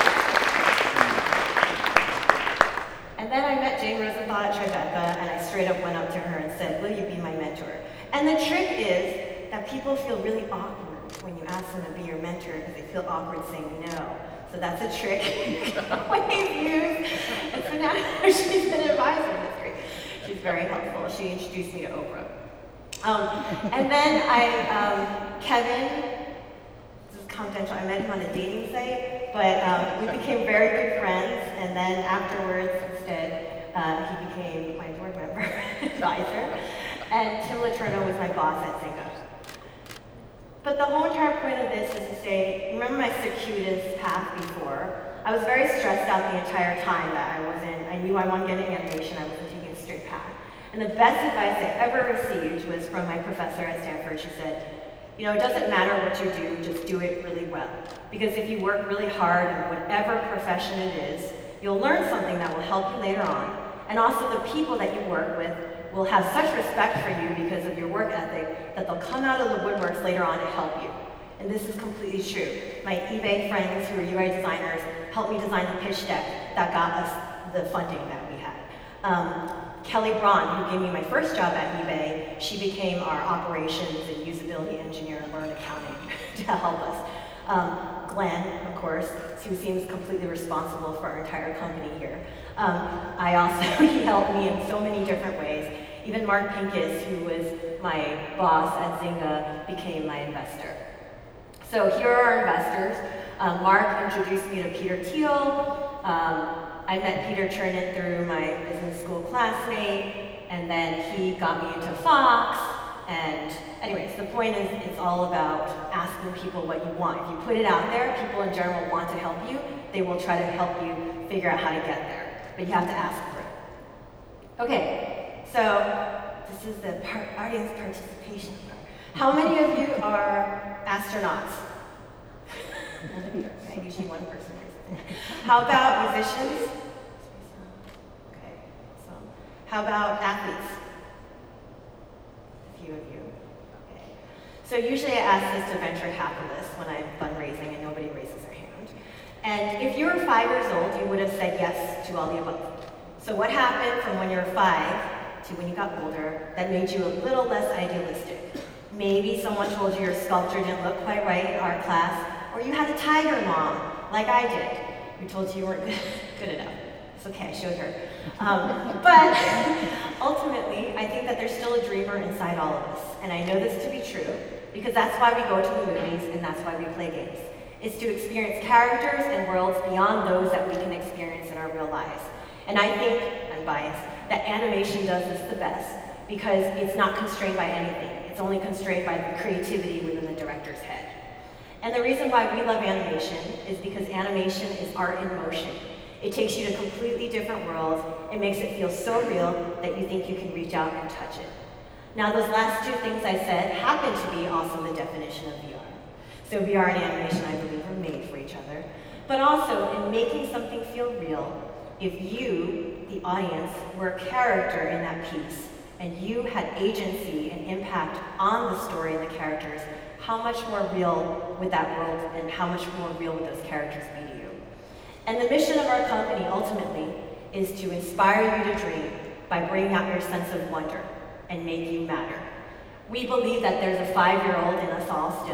D: And then I met Jane Rosenthal at Tribeca, and I straight up went up to her and said, will you be my mentor? And the trick is that people feel really awkward when you ask them to be your mentor because they feel awkward saying no. So that's a trick we've used. And so now she's an advisor. That's great. She's very helpful. She introduced me to Oprah. Um, and then I, um, Kevin, this is confidential, I met him on a dating site, but um, we became very good friends. And then afterwards, instead, uh, he became my board member advisor. And Tim Letourneau was my boss at Zynga. But the whole entire point of this is to say, remember my circuitous path before? I was very stressed out the entire time that I wasn't, I knew I wanted to get into animation, I wasn't taking a straight path. And the best advice I ever received was from my professor at Stanford. She said, you know, it doesn't matter what you do, just do it really well. Because if you work really hard in whatever profession it is, you'll learn something that will help you later on. And also the people that you work with will have such respect for you because of your work ethic that they'll come out of the woodworks later on to help you. And this is completely true. My eBay friends who are U I designers helped me design the pitch deck that got us the funding that we had. Um, Kelly Braun, who gave me my first job at eBay, she became our operations and usability engineer and learned accounting to help us. Um, Glenn, of course, who seems completely responsible for our entire company here. Um, I also, he helped me in so many different ways. Even Mark Pincus, who was my boss at Zynga, became my investor. So here are our investors. Um, Mark introduced me to Peter Thiel. Um, I met Peter Chernin through my business school classmate, and then he got me into Fox. And anyways, the point is it's all about asking people what you want. If you put it out there, people in general want to help you. They will try to help you figure out how to get there. But you have to ask for it. Okay, so this is the par- audience participation part. How many of you are astronauts? Okay, usually one person. How about musicians? Okay, so how about athletes? A few of you. Okay. So usually I ask this to venture capitalists when I'm fundraising and nobody raises their hand. And if you were five years old, you would have said yes to all the above. So what happened from when you were five to when you got older that made you a little less idealistic? Maybe someone told you your sculpture didn't look quite right in art class, or you had a tiger mom, like I did, who told you you weren't good, good enough. It's okay, I showed her. Um, but ultimately, I think that there's still a dreamer inside all of us. And I know this to be true, because that's why we go to the movies and that's why we play games. It's to experience characters and worlds beyond those that we can experience in our real lives. And I think, I'm biased, that animation does this the best, because it's not constrained by anything. It's only constrained by the creativity within the director's head. And the reason why we love animation is because animation is art in motion. It takes you to completely different worlds. It makes it feel so real that you think you can reach out and touch it. Now, those last two things I said happen to be also the definition of V R. So V R and animation, I believe, are made for each other. But also, in making something feel real, if you, the audience, were a character in that piece, and you had agency and impact on the story and the characters, how much more real would that world and how much more real would those characters be to you? And the mission of our company, ultimately, is to inspire you to dream by bringing out your sense of wonder and make you matter. We believe that there's a five-year-old in us all still,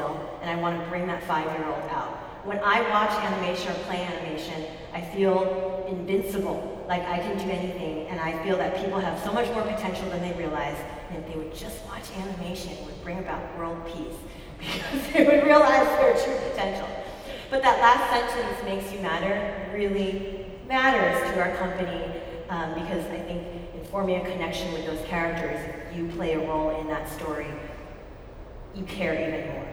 D: and I want to bring that five-year-old out. When I watch animation or play animation, I feel invincible, like I can do anything, and I feel that people have so much more potential than they realize, and if they would just watch animation, it would bring about world peace, because they would realize their true potential. But that last sentence, makes you matter, really matters to our company, um, because I think in forming a connection with those characters, if you play a role in that story, you care even more.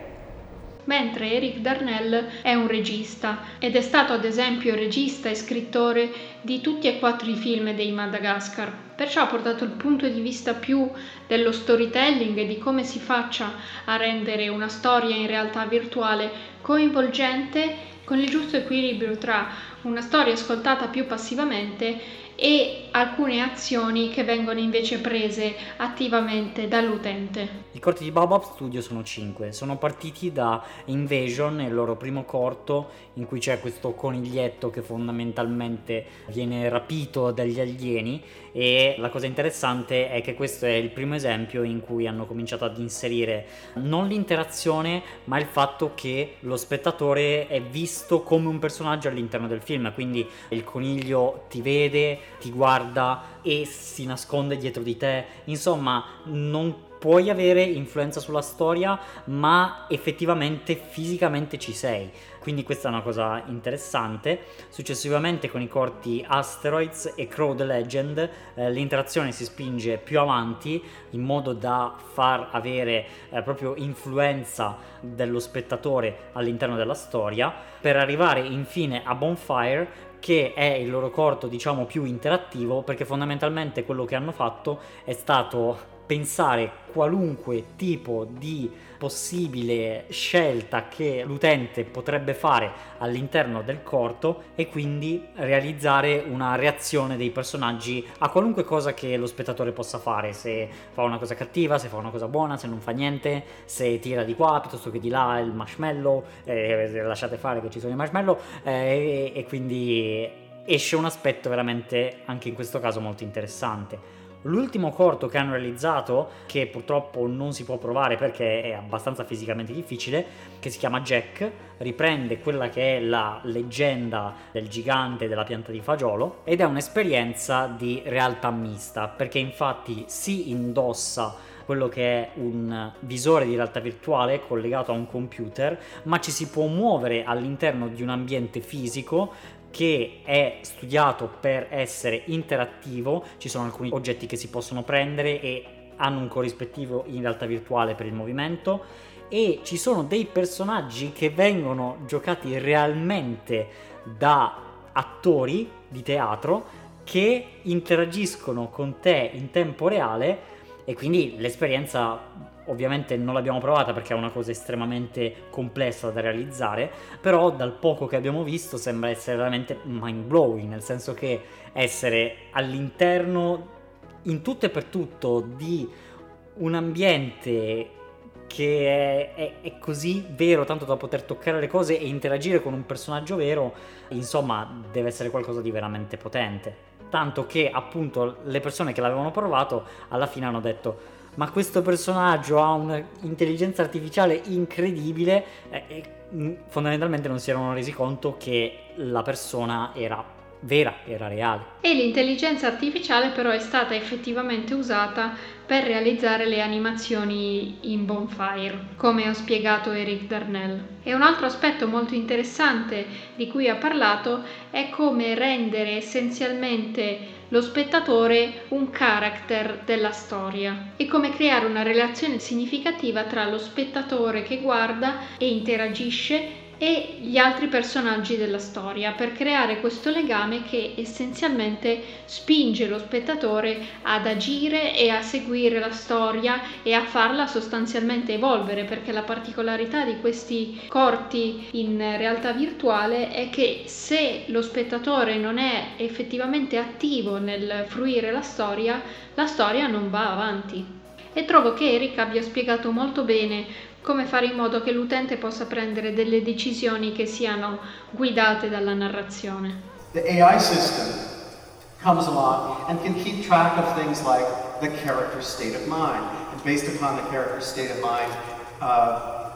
B: Mentre Eric Darnell è un regista ed è stato ad esempio regista e scrittore di tutti e quattro i film dei Madagascar, perciò ha portato il punto di vista più dello storytelling e di come si faccia a rendere una storia in realtà virtuale coinvolgente, con il giusto equilibrio tra una storia ascoltata più passivamente e alcune azioni che vengono invece prese attivamente dall'utente.
A: I corti di Baobab Studio sono cinque, sono partiti da Invasion, il loro primo corto in cui c'è questo coniglietto che fondamentalmente viene rapito dagli alieni, e la cosa interessante è che questo è il primo esempio in cui hanno cominciato ad inserire non l'interazione ma il fatto che lo spettatore è visto come un personaggio all'interno del film, quindi il coniglio ti vede, ti guarda e si nasconde dietro di te, insomma non puoi avere influenza sulla storia ma effettivamente fisicamente ci sei, quindi questa è una cosa interessante. Successivamente con i corti Asteroids e Crow the Legend eh, l'interazione si spinge più avanti in modo da far avere eh, proprio influenza dello spettatore all'interno della storia, per arrivare infine a Bonfire, che è il loro corto diciamo più interattivo, perché fondamentalmente quello che hanno fatto è stato pensare qualunque tipo di possibile scelta che l'utente potrebbe fare all'interno del corto e quindi realizzare una reazione dei personaggi a qualunque cosa che lo spettatore possa fare, se fa una cosa cattiva, se fa una cosa buona, se non fa niente, se tira di qua piuttosto che di là il marshmallow, eh, lasciate fare che ci sono i marshmallow, eh, e, e quindi esce un aspetto veramente anche in questo caso molto interessante. L'ultimo corto che hanno realizzato, che purtroppo non si può provare perché è abbastanza fisicamente difficile, che si chiama Jack, riprende quella che è la leggenda del gigante della pianta di fagiolo ed è un'esperienza di realtà mista, perché infatti si indossa quello che è un visore di realtà virtuale collegato a un computer, ma ci si può muovere all'interno di un ambiente fisico che è studiato per essere interattivo. Ci sono alcuni oggetti che si possono prendere e hanno un corrispettivo in realtà virtuale per il movimento, e ci sono dei personaggi che vengono giocati realmente da attori di teatro che interagiscono con te in tempo reale, e quindi l'esperienza ovviamente non l'abbiamo provata perché è una cosa estremamente complessa da realizzare, però dal poco che abbiamo visto sembra essere veramente mind blowing, nel senso che essere all'interno in tutto e per tutto di un ambiente che è, è, è così vero tanto da poter toccare le cose e interagire con un personaggio vero, insomma deve essere qualcosa di veramente potente, tanto che appunto le persone che l'avevano provato alla fine hanno detto: ma questo personaggio ha un'intelligenza artificiale incredibile, eh, e fondamentalmente non si erano resi conto che la persona era vera, era reale.
B: E l'intelligenza artificiale però è stata effettivamente usata per realizzare le animazioni in Bonfire, come ha spiegato Eric Darnell. E un altro aspetto molto interessante di cui ha parlato è come rendere essenzialmente lo spettatore un character della storia e come creare una relazione significativa tra lo spettatore che guarda e interagisce e gli altri personaggi della storia, per creare questo legame che essenzialmente spinge lo spettatore ad agire e a seguire la storia e a farla sostanzialmente evolvere, perché la particolarità di questi corti in realtà virtuale è che se lo spettatore non è effettivamente attivo nel fruire la storia, la storia non va avanti. E trovo che Eric abbia spiegato molto bene come fare in modo che l'utente possa prendere delle decisioni che siano guidate dalla narrazione.
E: The A I system comes along and can keep track of things like the character's state of mind. And based upon the character's state of mind, uh,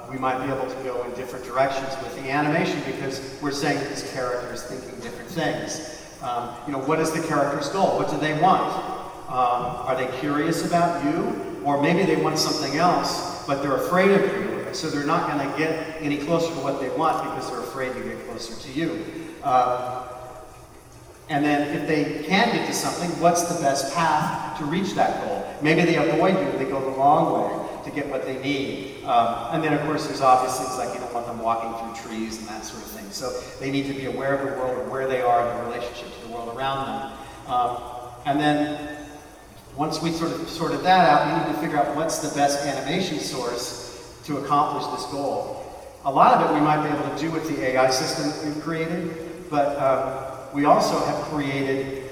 E: we might be able to go in different directions with the animation because we're saying that this character is thinking different things. Um, you know, what is the character's goal? What do they want? Um, are they curious about you? Or maybe they want something else, but they're afraid of you, so they're not going to get any closer to what they want because they're afraid to get closer to you. Uh, and then if they can get to something, what's the best path to reach that goal? Maybe they avoid you, they go the long way to get what they need. Um, and then of course there's obvious things like you don't want them walking through trees and that sort of thing. So they need to be aware of the world and where they are in the relationship to the world around them. Um, and then once we sort of sorted that out, we need to figure out what's the best animation source to accomplish this goal. A lot of it we might be able to do with the A I system that we've created, but um, we also have created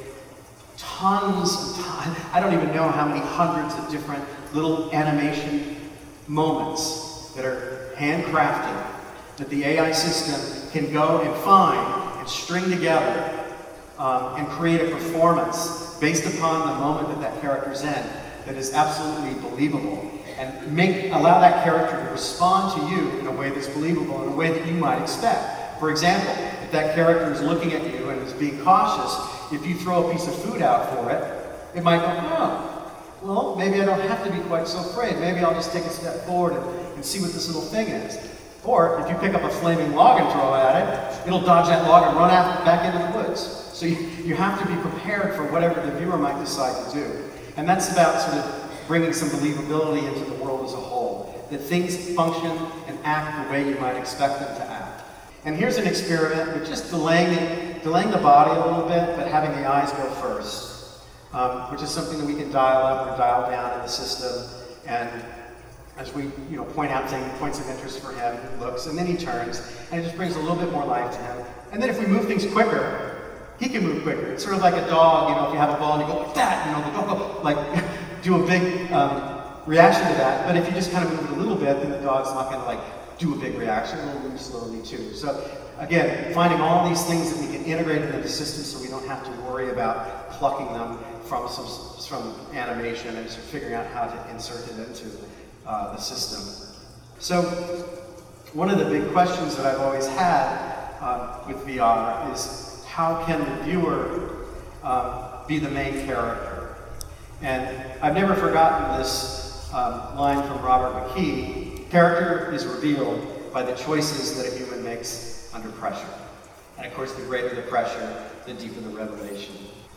E: tons and tons, I don't even know how many hundreds of different little animation moments that are handcrafted that the A I system can go and find and string together um, and create a performance based upon the moment that that character's in that is absolutely believable and make allow that character to respond to you in a way that's believable, in a way that you might expect. For example, if that character is looking at you and is being cautious, if you throw a piece of food out for it, it might go, oh, well, maybe I don't have to be quite so afraid. Maybe I'll just take a step forward and, and see what this little thing is. Or if you pick up a flaming log and throw it at it, it'll dodge that log and run out back into the woods. So you, you have to be prepared for whatever the viewer might decide to do. And that's about sort of bringing some believability into the world as a whole. That things function and act the way you might expect them to act. And here's an experiment with just delaying, it, delaying the body a little bit, but having the eyes go first, um, which is something that we can dial up or dial down in the system. And as we you know, point out things, points of interest for him, he looks, and then he turns, and it just brings a little bit more life to him. And then if we move things quicker, he can move quicker. It's sort of like a dog, you know, if you have a ball and you go like that, you know, like, oh, oh, like do a big um, reaction to that. But if you just kind of move it a little bit, then the dog's not going to like do a big reaction. It'll move slowly too. So again, finding all these things that we can integrate into the system so we don't have to worry about plucking them from some from animation and sort of figuring out how to insert it into uh, the system. So one of the big questions that I've always had uh, with V R is, how can the viewer uh, be the main character? And I've never forgotten this um, line from Robert McKee: character is revealed by the choices that a human makes under pressure. And of course, the greater the pressure, the deeper the revelation.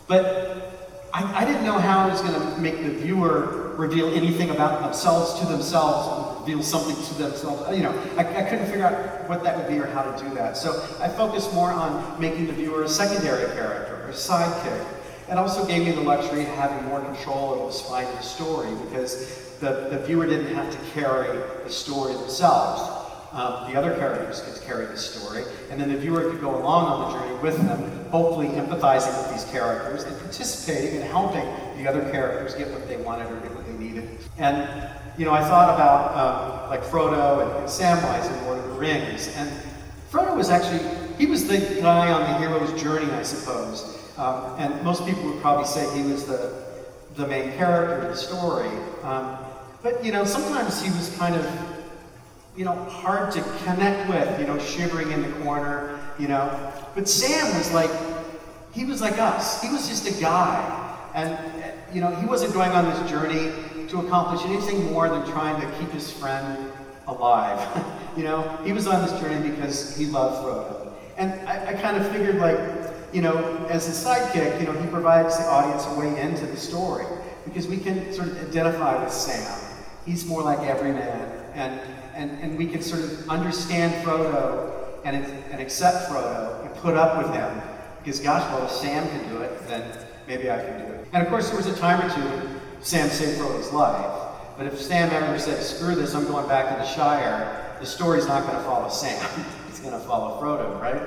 E: But I, I didn't know how I was going to make the viewer reveal anything about themselves to themselves, reveal something to themselves. You know, I, I couldn't figure out what that would be or how to do that. So I focused more on making the viewer a secondary character, or a sidekick. It also gave me the luxury of having more control over the spine of the story, because the, the viewer didn't have to carry the story themselves. Um, the other characters could carry the story, and then the viewer could go along on the journey with them, hopefully empathizing with these characters and participating and helping the other characters get what they wanted or get what they needed. And, you know, I thought about um, like Frodo and, and Samwise in Lord of the Rings, and Frodo was actually, he was the guy on the hero's journey, I suppose. Um, and most people would probably say he was the, the main character of the story. Um, but, you know, sometimes he was kind of, you know, hard to connect with, you know, shivering in the corner, you know. But Sam was like, he was like us. He was just a guy. And, you know, he wasn't going on this journey to accomplish anything more than trying to keep his friend alive. You know, he was on this journey because he loved Frodo. And I, I kind of figured, like, you know, as a sidekick, you know, he provides the audience a way into the story, because we can sort of identify with Sam. He's more like every man. And And, and we can sort of understand Frodo and, and accept Frodo and put up with him. Because gosh, well, if Sam can do it, then maybe I can do it. And of course, there was a time or two when Sam saved Frodo's life. But if Sam ever said, screw this, I'm going back to the Shire, the story's not going to follow Sam. It's going to follow Frodo, right?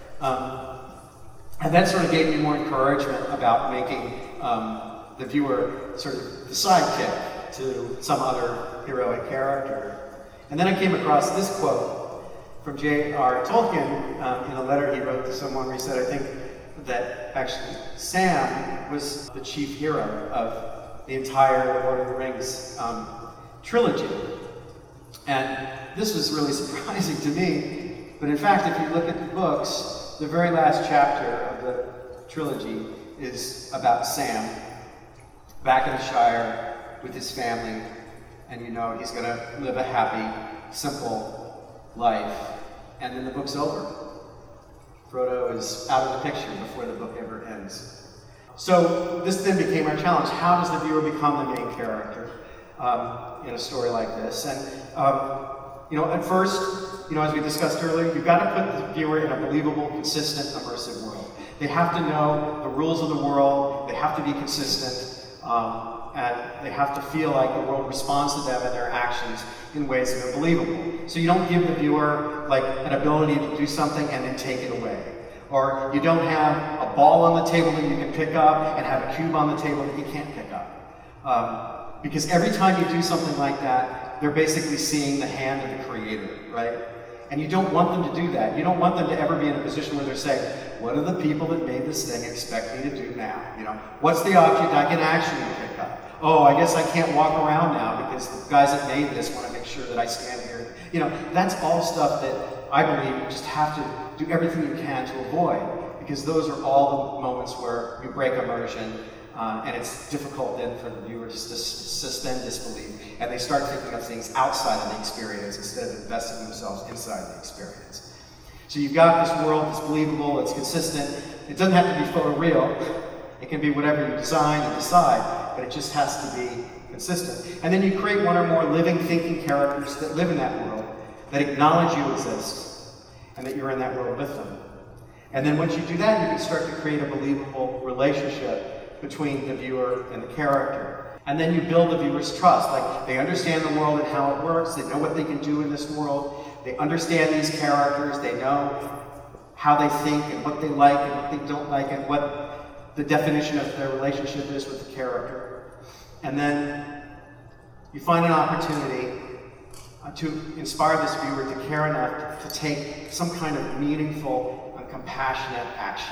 E: Um, and that sort of gave me more encouragement about making um, the viewer sort of the sidekick to some other heroic character. And then I came across this quote from J R Tolkien um, in a letter he wrote to someone where he said, I think that actually Sam was the chief hero of the entire Lord of the Rings um, trilogy. And this was really surprising to me, but in fact, if you look at the books, the very last chapter of the trilogy is about Sam, back in the Shire with his family, and you know he's gonna live a happy, simple life, and then the book's over. Frodo is out of the picture before the book ever ends. So this then became our challenge. How does the viewer become the main character um, in a story like this? And um, you know, at first, you know, as we discussed earlier, you've got to put the viewer in a believable, consistent, immersive world. They have to know the rules of the world. They have to be consistent, um, and they have to feel like the world responds to them and their actions in ways that are believable. So you don't give the viewer like an ability to do something and then take it away. Or you don't have a ball on the table that you can pick up and have a cube on the table that you can't pick up. Um, because every time you do something like that, they're basically seeing the hand of the creator, right? And you don't want them to do that. You don't want them to ever be in a position where they're saying, what do the people that made this thing expect me to do now? You know, what's the object I can actually pick up? Oh, I guess I can't walk around now because the guys that made this want to make sure that I stand here. You know, that's all stuff that I believe you just have to do everything you can to avoid, because those are all the moments where you break immersion, uh, and it's difficult then for the viewer just to suspend disbelief, and they start thinking of things outside of the experience instead of investing themselves inside the experience. So you've got this world that's believable, it's consistent. It doesn't have to be photoreal. It can be whatever you design and decide, but it just has to be consistent. And then you create one or more living, thinking characters that live in that world, that acknowledge you exist, and that you're in that world with them. And then once you do that, you can start to create a believable relationship between the viewer and the character. And then you build the viewer's trust. Like, they understand the world and how it works, they know what they can do in this world, they understand these characters, they know how they think and what they like and what they don't like and what the definition of their relationship is with the character. And then you find an opportunity uh, to inspire this viewer to care enough to, to take some kind of meaningful and compassionate action.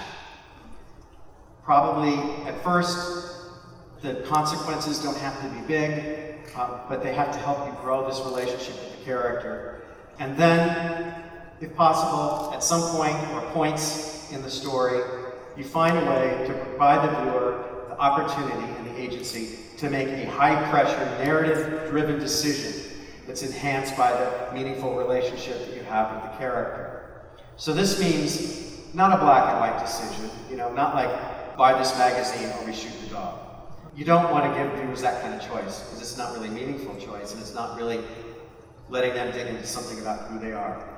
E: Probably at first, the consequences don't have to be big, uh, but they have to help you grow this relationship with the character. And then, if possible, at some point or points in the story, you find a way to provide the viewer the opportunity and the agency to make a high-pressure, narrative-driven decision that's enhanced by the meaningful relationship that you have with the character. So this means not a black and white decision, you know, not like buy this magazine or we shoot the dog. You don't want to give viewers that kind of choice, because it's not really a meaningful choice, and it's not really letting them dig into something about who they are.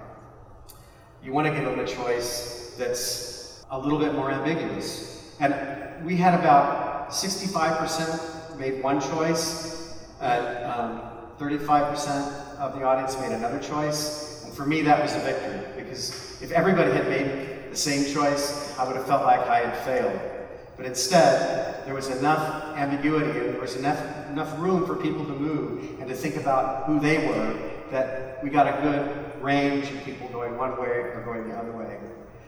E: You want to give them a choice that's a little bit more ambiguous. And we had about sixty-five percent made one choice, and um, thirty-five percent of the audience made another choice. And for me, that was a victory, because if everybody had made the same choice, I would have felt like I had failed. But instead, there was enough ambiguity and there was enough, enough room for people to move and to think about who they were, that we got a good range of people going one way or going the other way.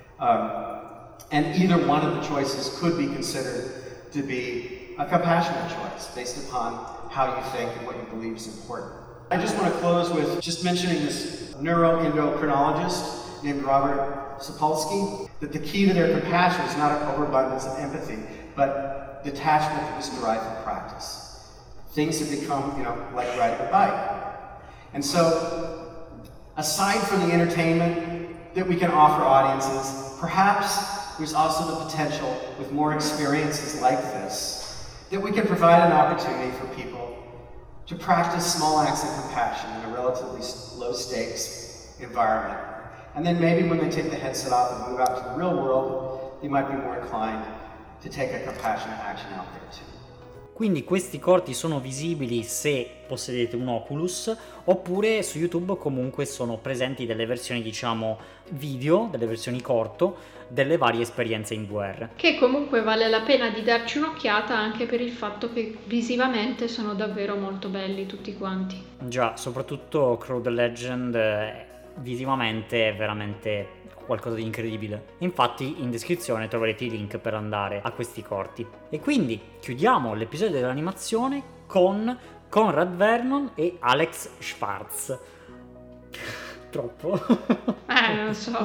E: Um, and either one of the choices could be considered to be a compassionate choice based upon how you think and what you believe is important. I just want to close with just mentioning this neuroendocrinologist named Robert Sapolsky, that the key to their compassion is not an overabundance of empathy, but detachment that was derived from practice. Things have become, you know, like riding a bike. And so, aside from the entertainment that we can offer audiences, perhaps there's also the potential, with more experiences like this, that we can provide an opportunity for people to practice small acts of compassion in a relatively low-stakes environment. And then maybe when they take the headset off and move out to the real world, they might be more inclined to take a compassionate action out there too.
A: Quindi questi corti sono visibili se possedete un Oculus, oppure su YouTube comunque sono presenti delle versioni, diciamo, video, delle versioni corto, delle varie esperienze in V R.
B: Che comunque vale la pena di darci un'occhiata, anche per il fatto che visivamente sono davvero molto belli tutti quanti.
A: Già, soprattutto Crow the Legend è visivamente è veramente qualcosa di incredibile. Infatti in descrizione troverete i link per andare a questi corti. E quindi chiudiamo l'episodio dell'animazione con Conrad Vernon e Alex Schwartz. Troppo?
B: Eh, non so.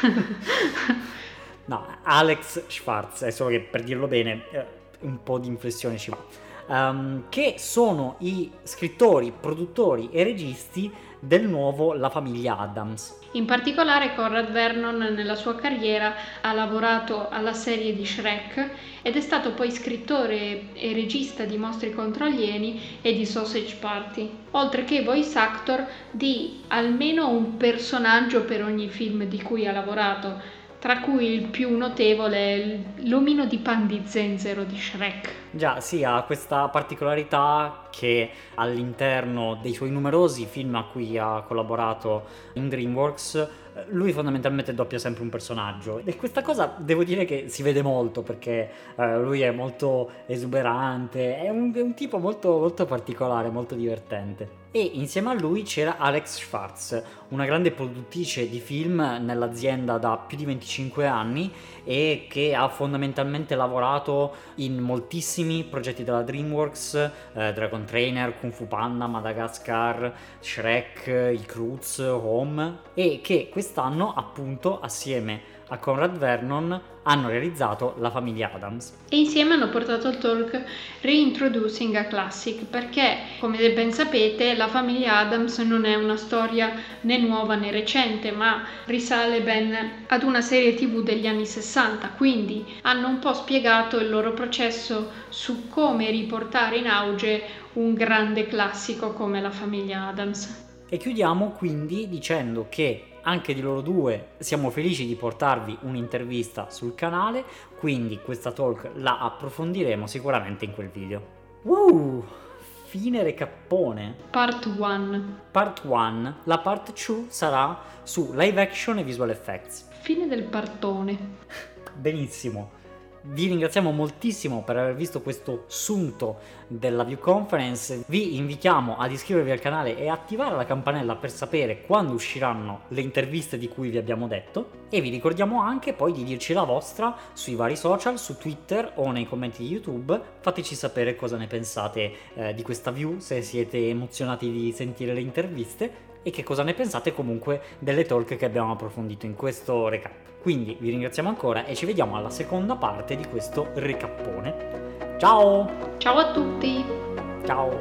A: No, Alex Schwartz, è solo che per dirlo bene un po' di inflessione ci va. Um, che sono i scrittori, produttori e registi del nuovo La famiglia Addams.
B: In particolare Conrad Vernon nella sua carriera ha lavorato alla serie di Shrek ed è stato poi scrittore e regista di Mostri contro alieni e di Sausage Party, oltre che voice actor di almeno un personaggio per ogni film di cui ha lavorato, tra cui il più notevole è l'omino di pan di zenzero di Shrek.
A: Già, sì, ha questa particolarità che all'interno dei suoi numerosi film a cui ha collaborato in DreamWorks, lui fondamentalmente doppia sempre un personaggio. E questa cosa devo dire che si vede molto, perché eh, lui è molto esuberante, è un, è un tipo molto, molto particolare, molto divertente. E insieme a lui c'era Alex Schwartz, una grande produttrice di film nell'azienda da più di venticinque anni e che ha fondamentalmente lavorato in moltissimi progetti della DreamWorks, eh, Dragon Trainer, Kung Fu Panda, Madagascar, Shrek, i Croods, Home, e che quest'anno appunto assieme a Conrad Vernon hanno realizzato La famiglia Addams.
B: E insieme hanno portato il talk Reintroducing a Classic, perché, come ben sapete, La famiglia Addams non è una storia né nuova né recente, ma risale ben ad una serie tv degli anni sessanta, quindi hanno un po' spiegato il loro processo su come riportare in auge un grande classico come La famiglia Addams.
A: E chiudiamo quindi dicendo che anche di loro due siamo felici di portarvi un'intervista sul canale, quindi questa talk la approfondiremo sicuramente in quel video. Wow! Fine recappone.
B: Part uno.
A: Part uno. La part due sarà su live action e visual effects.
B: Fine del partone.
A: Benissimo. Vi ringraziamo moltissimo per aver visto questo sunto della View Conference. Vi invitiamo ad iscrivervi al canale e attivare la campanella per sapere quando usciranno le interviste di cui vi abbiamo detto, e vi ricordiamo anche poi di dirci la vostra sui vari social, su Twitter o nei commenti di YouTube. Fateci sapere cosa ne pensate eh, di questa view, se siete emozionati di sentire le interviste, e che cosa ne pensate comunque delle talk che abbiamo approfondito in questo recap. Quindi vi ringraziamo ancora e ci vediamo alla seconda parte di questo recappone. Ciao!
B: Ciao a tutti!
A: Ciao!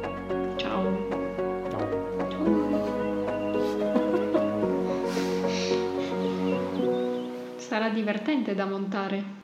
B: Ciao!
A: Ciao!
B: Sarà divertente da montare.